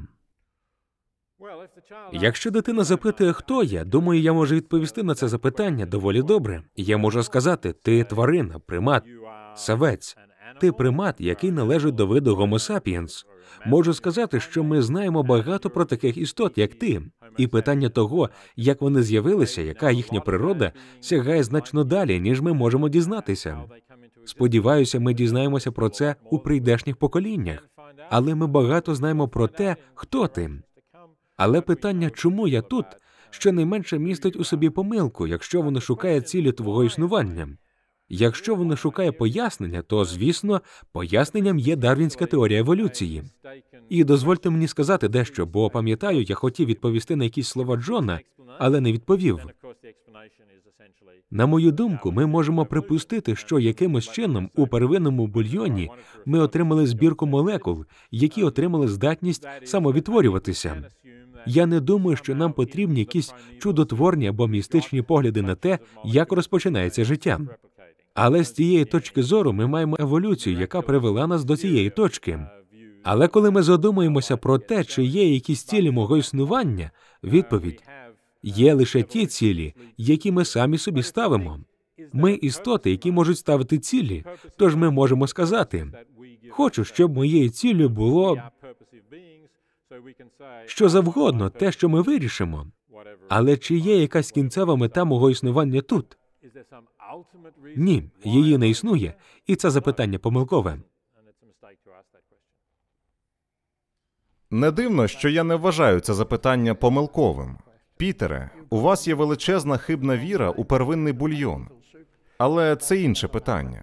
Якщо дитина запитує, хто я, думаю, я можу відповісти на це запитання доволі добре. Я можу сказати, ти тварина, примат, савець. Ти примат, який належить до виду Homo sapiens. Можу сказати, що ми знаємо багато про таких істот, як ти. І питання того, як вони з'явилися, яка їхня природа, сягає значно далі, ніж ми можемо дізнатися. Сподіваюся, ми дізнаємося про це у прийдешніх поколіннях. Але ми багато знаємо про те, хто ти. Але питання, чому я тут, щонайменше містить у собі помилку, якщо воно шукає цілі твого існування. Якщо воно шукає пояснення, то, звісно, поясненням є дарвінська теорія еволюції. І дозвольте мені сказати дещо, бо, пам'ятаю, я хотів відповісти на якісь слова Джона, але не відповів. На мою думку, ми можемо припустити, що якимось чином у первинному бульйоні ми отримали збірку молекул, які отримали здатність самовідтворюватися. Я не думаю, що нам потрібні якісь чудотворні або містичні погляди на те, як розпочинається життя. Але з цієї точки зору ми маємо еволюцію, яка привела нас до цієї точки. Але коли ми задумуємося про те, чи є якісь цілі мого існування, відповідь – є лише ті цілі, які ми самі собі ставимо. Ми істоти, які можуть ставити цілі, тож ми можемо сказати, хочу, щоб моєю ціллю було що завгодно, те, що ми вирішимо. Але чи є якась кінцева мета мого існування тут? Ні, її не існує, і це запитання помилкове. Не дивно, що я не вважаю це запитання помилковим. Пітере, у вас є величезна хибна віра у первинний бульйон. Але це інше питання.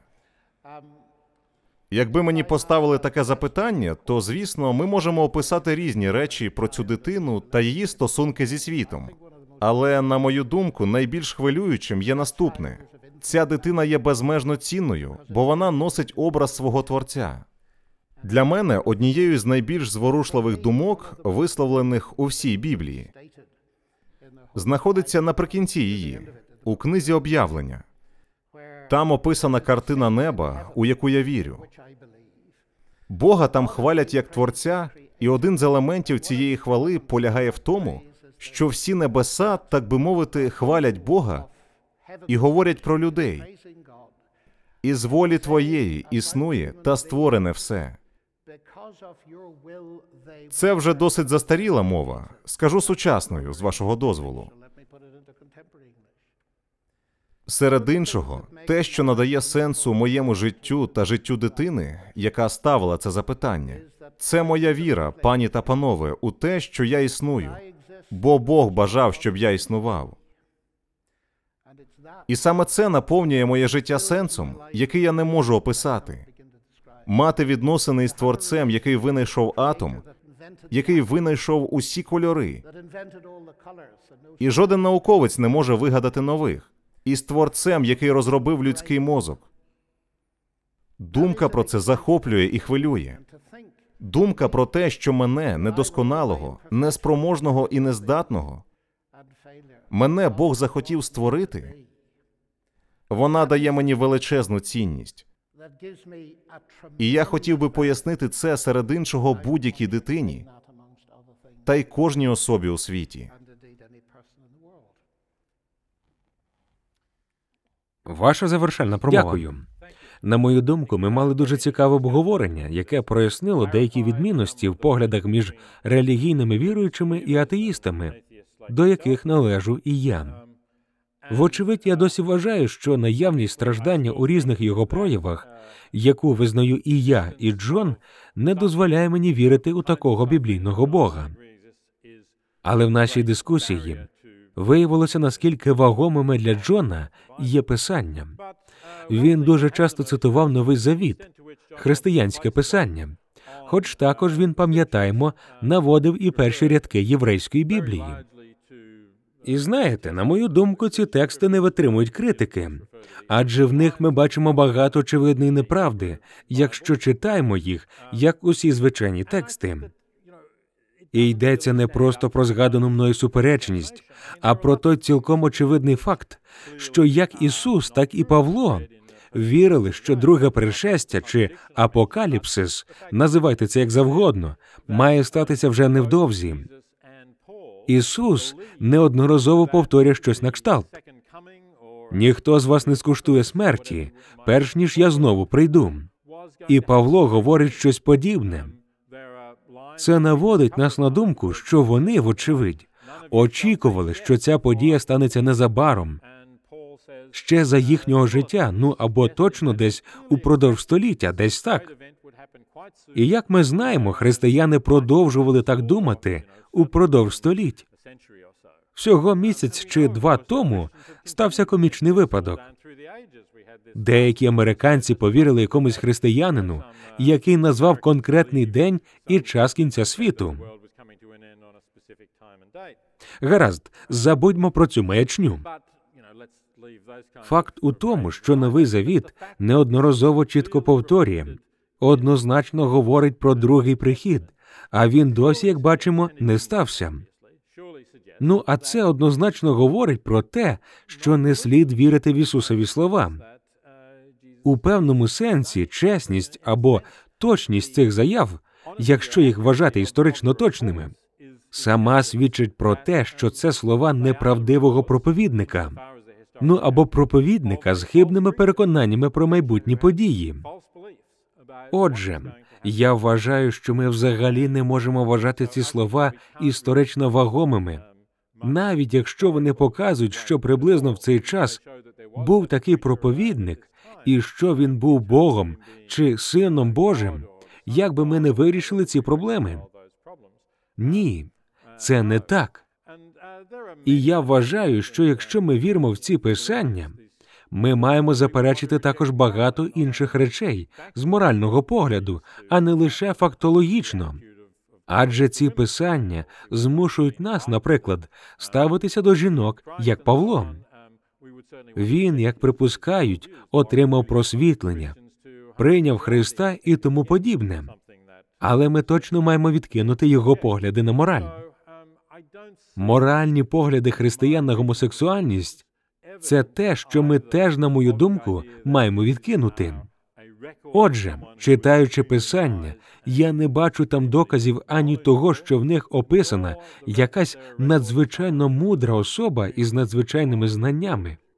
Якби мені поставили таке запитання, то, звісно, ми можемо описати різні речі про цю дитину та її стосунки зі світом. Але, на мою думку, найбільш хвилюючим є наступне. Ця дитина є безмежно цінною, бо вона носить образ свого Творця. Для мене однією з найбільш зворушливих думок, висловлених у всій Біблії, знаходиться наприкінці її, у книзі «Об'явлення». Там описана картина неба, у яку я вірю. Бога там хвалять як Творця, і один з елементів цієї хвали полягає в тому, що всі небеса, так би мовити, хвалять Бога і говорять про людей. Із волі твоєї існує та створене все. Це вже досить застаріла мова. Скажу сучасною, з вашого дозволу. Серед іншого, те, що надає сенсу моєму життю та життю дитини, яка ставила це запитання, це моя віра, пані та панове, у те, що я існую, бо Бог бажав, щоб я існував. І саме це наповнює моє життя сенсом, який я не можу описати. Мати відносини із Творцем, який винайшов атом, який винайшов усі кольори. І жоден науковець не може вигадати нових. І з Творцем, який розробив людський мозок. Думка про це захоплює і хвилює. Думка про те, що мене, недосконалого, неспроможного і нездатного, мене Бог захотів створити, вона дає мені величезну цінність. І я хотів би пояснити це серед іншого будь-якій дитині та й кожній особі у світі. Ваша завершальна промова. Дякую. На мою думку, ми мали дуже цікаве обговорення, яке прояснило деякі відмінності в поглядах між релігійними віруючими і атеїстами, до яких належу і я. Вочевидь, я досі вважаю, що наявність страждання у різних його проявах, яку визнаю і я, і Джон, не дозволяє мені вірити у такого біблійного Бога. Але в нашій дискусії виявилося, наскільки вагомими для Джона є Писання. Він дуже часто цитував Новий Завіт, християнське Писання, хоч також він, пам'ятаємо, наводив і перші рядки єврейської Біблії. І знаєте, на мою думку, ці тексти не витримують критики, адже в них ми бачимо багато очевидної неправди, якщо читаємо їх, як усі звичайні тексти. І йдеться не просто про згадану мною суперечність, а про той цілком очевидний факт, що як Ісус, так і Павло вірили, що друге пришестя чи апокаліпсис, називайте це як завгодно, має статися вже невдовзі. Ісус неодноразово повторює щось на кшталт. «Ніхто з вас не скуштує смерті, перш ніж я знову прийду». І Павло говорить щось подібне. Це наводить нас на думку, що вони, вочевидь, очікували, що ця подія станеться незабаром, ще за їхнього життя, ну або точно десь упродовж століття, десь так. І як ми знаємо, християни продовжували так думати упродовж століть. Всього місяць чи два тому стався комічний випадок. Деякі американці повірили якомусь християнину, який назвав конкретний день і час кінця світу. Гаразд, забудьмо про цю маячню. Факт у тому, що Новий Завіт неодноразово чітко повторює, однозначно говорить про другий прихід, а він досі, як бачимо, не стався. Ну, а це однозначно говорить про те, що не слід вірити в Ісусові слова. У певному сенсі чесність або точність цих заяв, якщо їх вважати історично точними, сама свідчить про те, що це слова неправдивого проповідника, ну або проповідника з хибними переконаннями про майбутні події. Отже, я вважаю, що ми взагалі не можемо вважати ці слова історично вагомими, навіть якщо вони показують, що приблизно в цей час був такий проповідник, і що він був Богом чи Сином Божим, як би ми не вирішили ці проблеми. Ні, це не так. І я вважаю, що якщо ми віримо в ці писання, ми маємо заперечити також багато інших речей з морального погляду, а не лише фактологічно. Адже ці писання змушують нас, наприклад, ставитися до жінок, як Павло. Він, як припускають, отримав просвітлення, прийняв Христа і тому подібне. Але ми точно маємо відкинути його погляди на мораль. Моральні погляди християн на гомосексуальність – це те, що ми теж, на мою думку, маємо відкинути. Отже, читаючи Писання, я не бачу там доказів ані того, що в них описана якась надзвичайно мудра особа із надзвичайними знаннями,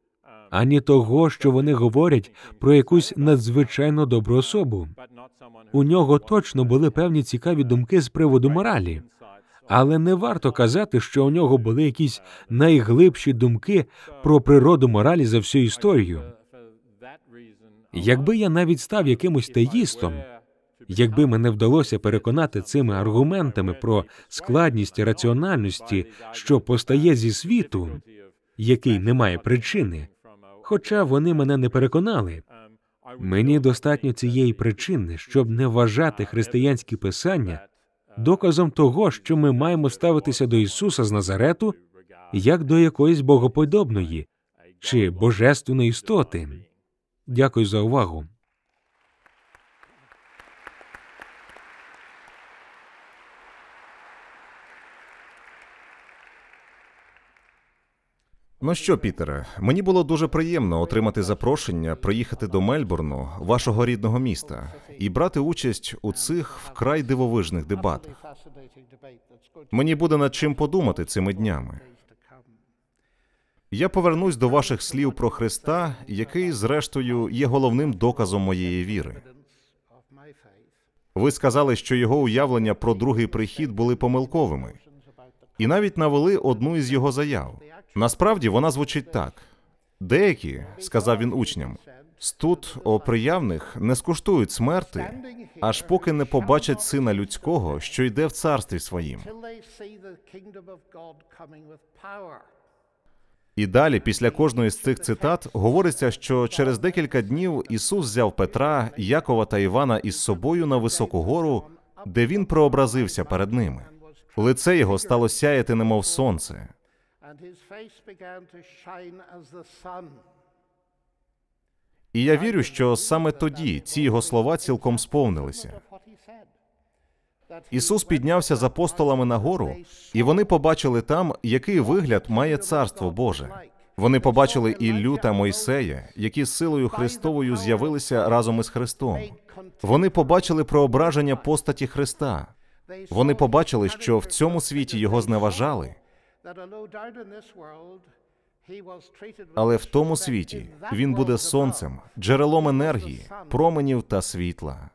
ані того, що вони говорять про якусь надзвичайно добру особу. У нього точно були певні цікаві думки з приводу моралі. Але не варто казати, що у нього були якісь найглибші думки про природу моралі за всю історію. Якби я навіть став якимось теїстом, якби мене вдалося переконати цими аргументами про складність і раціональності, що постає зі світу, який не має причини, хоча вони мене не переконали, мені достатньо цієї причини, щоб не вважати християнські писання доказом того, що ми маємо ставитися до Ісуса з Назарету як до якоїсь богоподобної чи божественної істоти. Дякую за увагу. Ну що, Пітере, мені було дуже приємно отримати запрошення приїхати до Мельбурну, вашого рідного міста, і брати участь у цих вкрай дивовижних дебатах. Мені буде над чим подумати цими днями. Я повернусь до ваших слів про Христа, який, зрештою, є головним доказом моєї віри. Ви сказали, що його уявлення про другий прихід були помилковими, і навіть навели одну із його заяв. Насправді вона звучить так. Деякі, сказав він учням, з тут оприявних не скуштують смерти, аж поки не побачать Сина Людського, що йде в царстві своїм. І далі, після кожної з цих цитат, говориться, що через декілька днів Ісус взяв Петра, Якова та Івана із собою на високу гору, де він прообразився перед ними. Лице його стало сяяти, немов сонце. І я вірю, що саме тоді ці його слова цілком сповнилися. Ісус піднявся з апостолами на гору, і вони побачили там, який вигляд має Царство Боже. Вони побачили Іллю та Мойсея, які з силою Христовою з'явилися разом із Христом. Вони побачили проображення постаті Христа. Вони побачили, що в цьому світі його зневажали, але в тому світі він буде сонцем, джерелом енергії, променів та світла.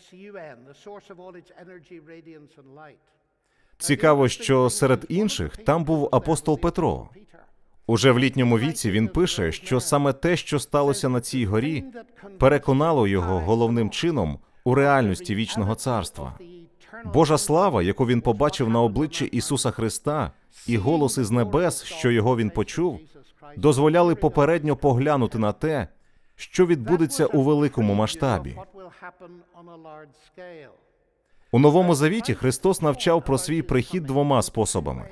Цікаво, що серед інших там був апостол Петро. Уже в літньому віці він пише, що саме те, що сталося на цій горі, переконало його головним чином у реальності вічного царства. Божа слава, яку він побачив на обличчі Ісуса Христа, і голос із небес, що його він почув, дозволяли попередньо поглянути на те, що відбудеться у великому масштабі. У Новому Завіті Христос навчав про свій прихід двома способами.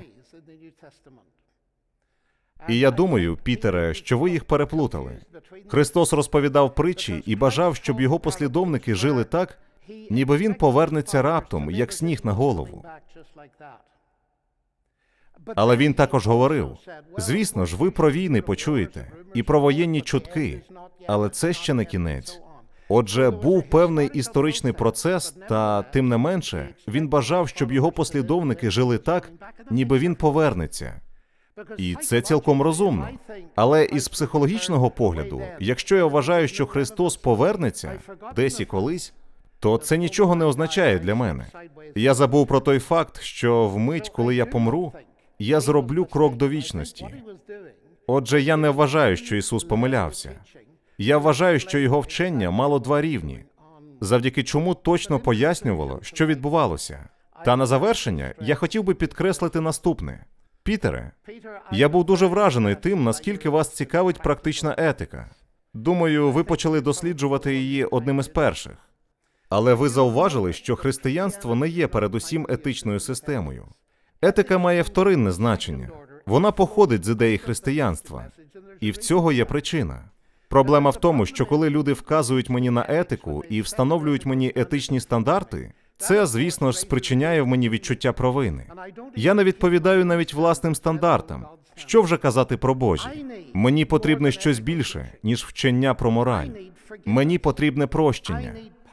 І я думаю, Пітере, що ви їх переплутали. Христос розповідав притчі і бажав, щоб його послідовники жили так, ніби він повернеться раптом, як сніг на голову. Але він також говорив, звісно ж, ви про війни почуєте, і про воєнні чутки, але це ще не кінець. Отже, був певний історичний процес, та, тим не менше, він бажав, щоб його послідовники жили так, ніби він повернеться. І це цілком розумно. Але із психологічного погляду, якщо я вважаю, що Христос повернеться десь і колись, то це нічого не означає для мене. Я забув про той факт, що вмить, коли я помру, я зроблю крок до вічності. Отже, я не вважаю, що Ісус помилявся. Я вважаю, що його вчення мало два рівні, завдяки чому точно пояснювало, що відбувалося. Та на завершення я хотів би підкреслити наступне. Пітере, я був дуже вражений тим, наскільки вас цікавить практична етика. Думаю, ви почали досліджувати її одним із перших. Але ви зауважили, що християнство не є передусім етичною системою. Етика має вторинне значення. Вона походить з ідеї християнства. І в цього є причина. Проблема в тому, що коли люди вказують мені на етику і встановлюють мені етичні стандарти, це, звісно ж, спричиняє в мені відчуття провини. Я не відповідаю навіть власним стандартам. Що вже казати про Божі? Мені потрібне щось більше, ніж вчення про мораль. Мені потрібне прощення.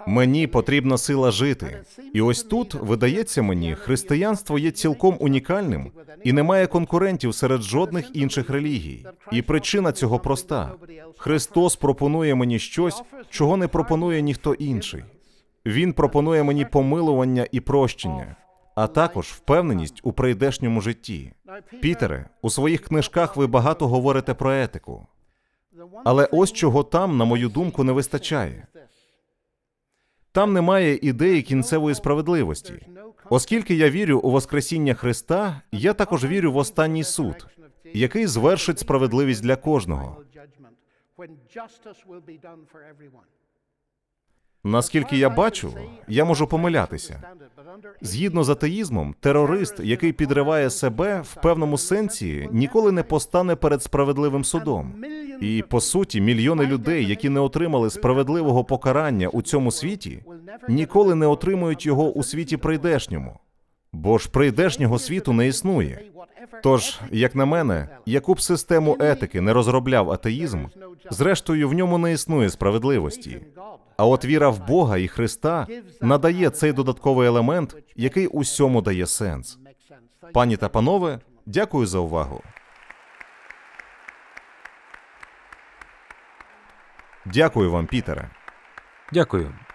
Мені потрібна сила жити. І ось тут, видається мені, християнство є цілком унікальним і не має конкурентів серед жодних інших релігій. І причина цього проста. Христос пропонує мені щось, чого не пропонує ніхто інший. Він пропонує мені помилування і прощення, а також впевненість у прийдешньому житті. Пітере, у своїх книжках ви багато говорите про етику. Але ось чого там, на мою думку, не вистачає. Там немає ідеї кінцевої справедливості. Оскільки я вірю у Воскресіння Христа, я також вірю в останній суд, який звершить справедливість для кожного. Наскільки я бачу, я можу помилятися. Згідно з атеїзмом, терорист, який підриває себе, в певному сенсі ніколи не постане перед справедливим судом. І, по суті, мільйони людей, які не отримали справедливого покарання у цьому світі, ніколи не отримують його у світі прийдешньому. Бо ж прийдешнього світу не існує. Тож, як на мене, яку б систему етики не розробляв атеїзм, зрештою в ньому не існує справедливості. А от віра в Бога і Христа надає цей додатковий елемент, який усьому дає сенс. Пані та панове, дякую за увагу. Дякую вам, Пітере. Дякую.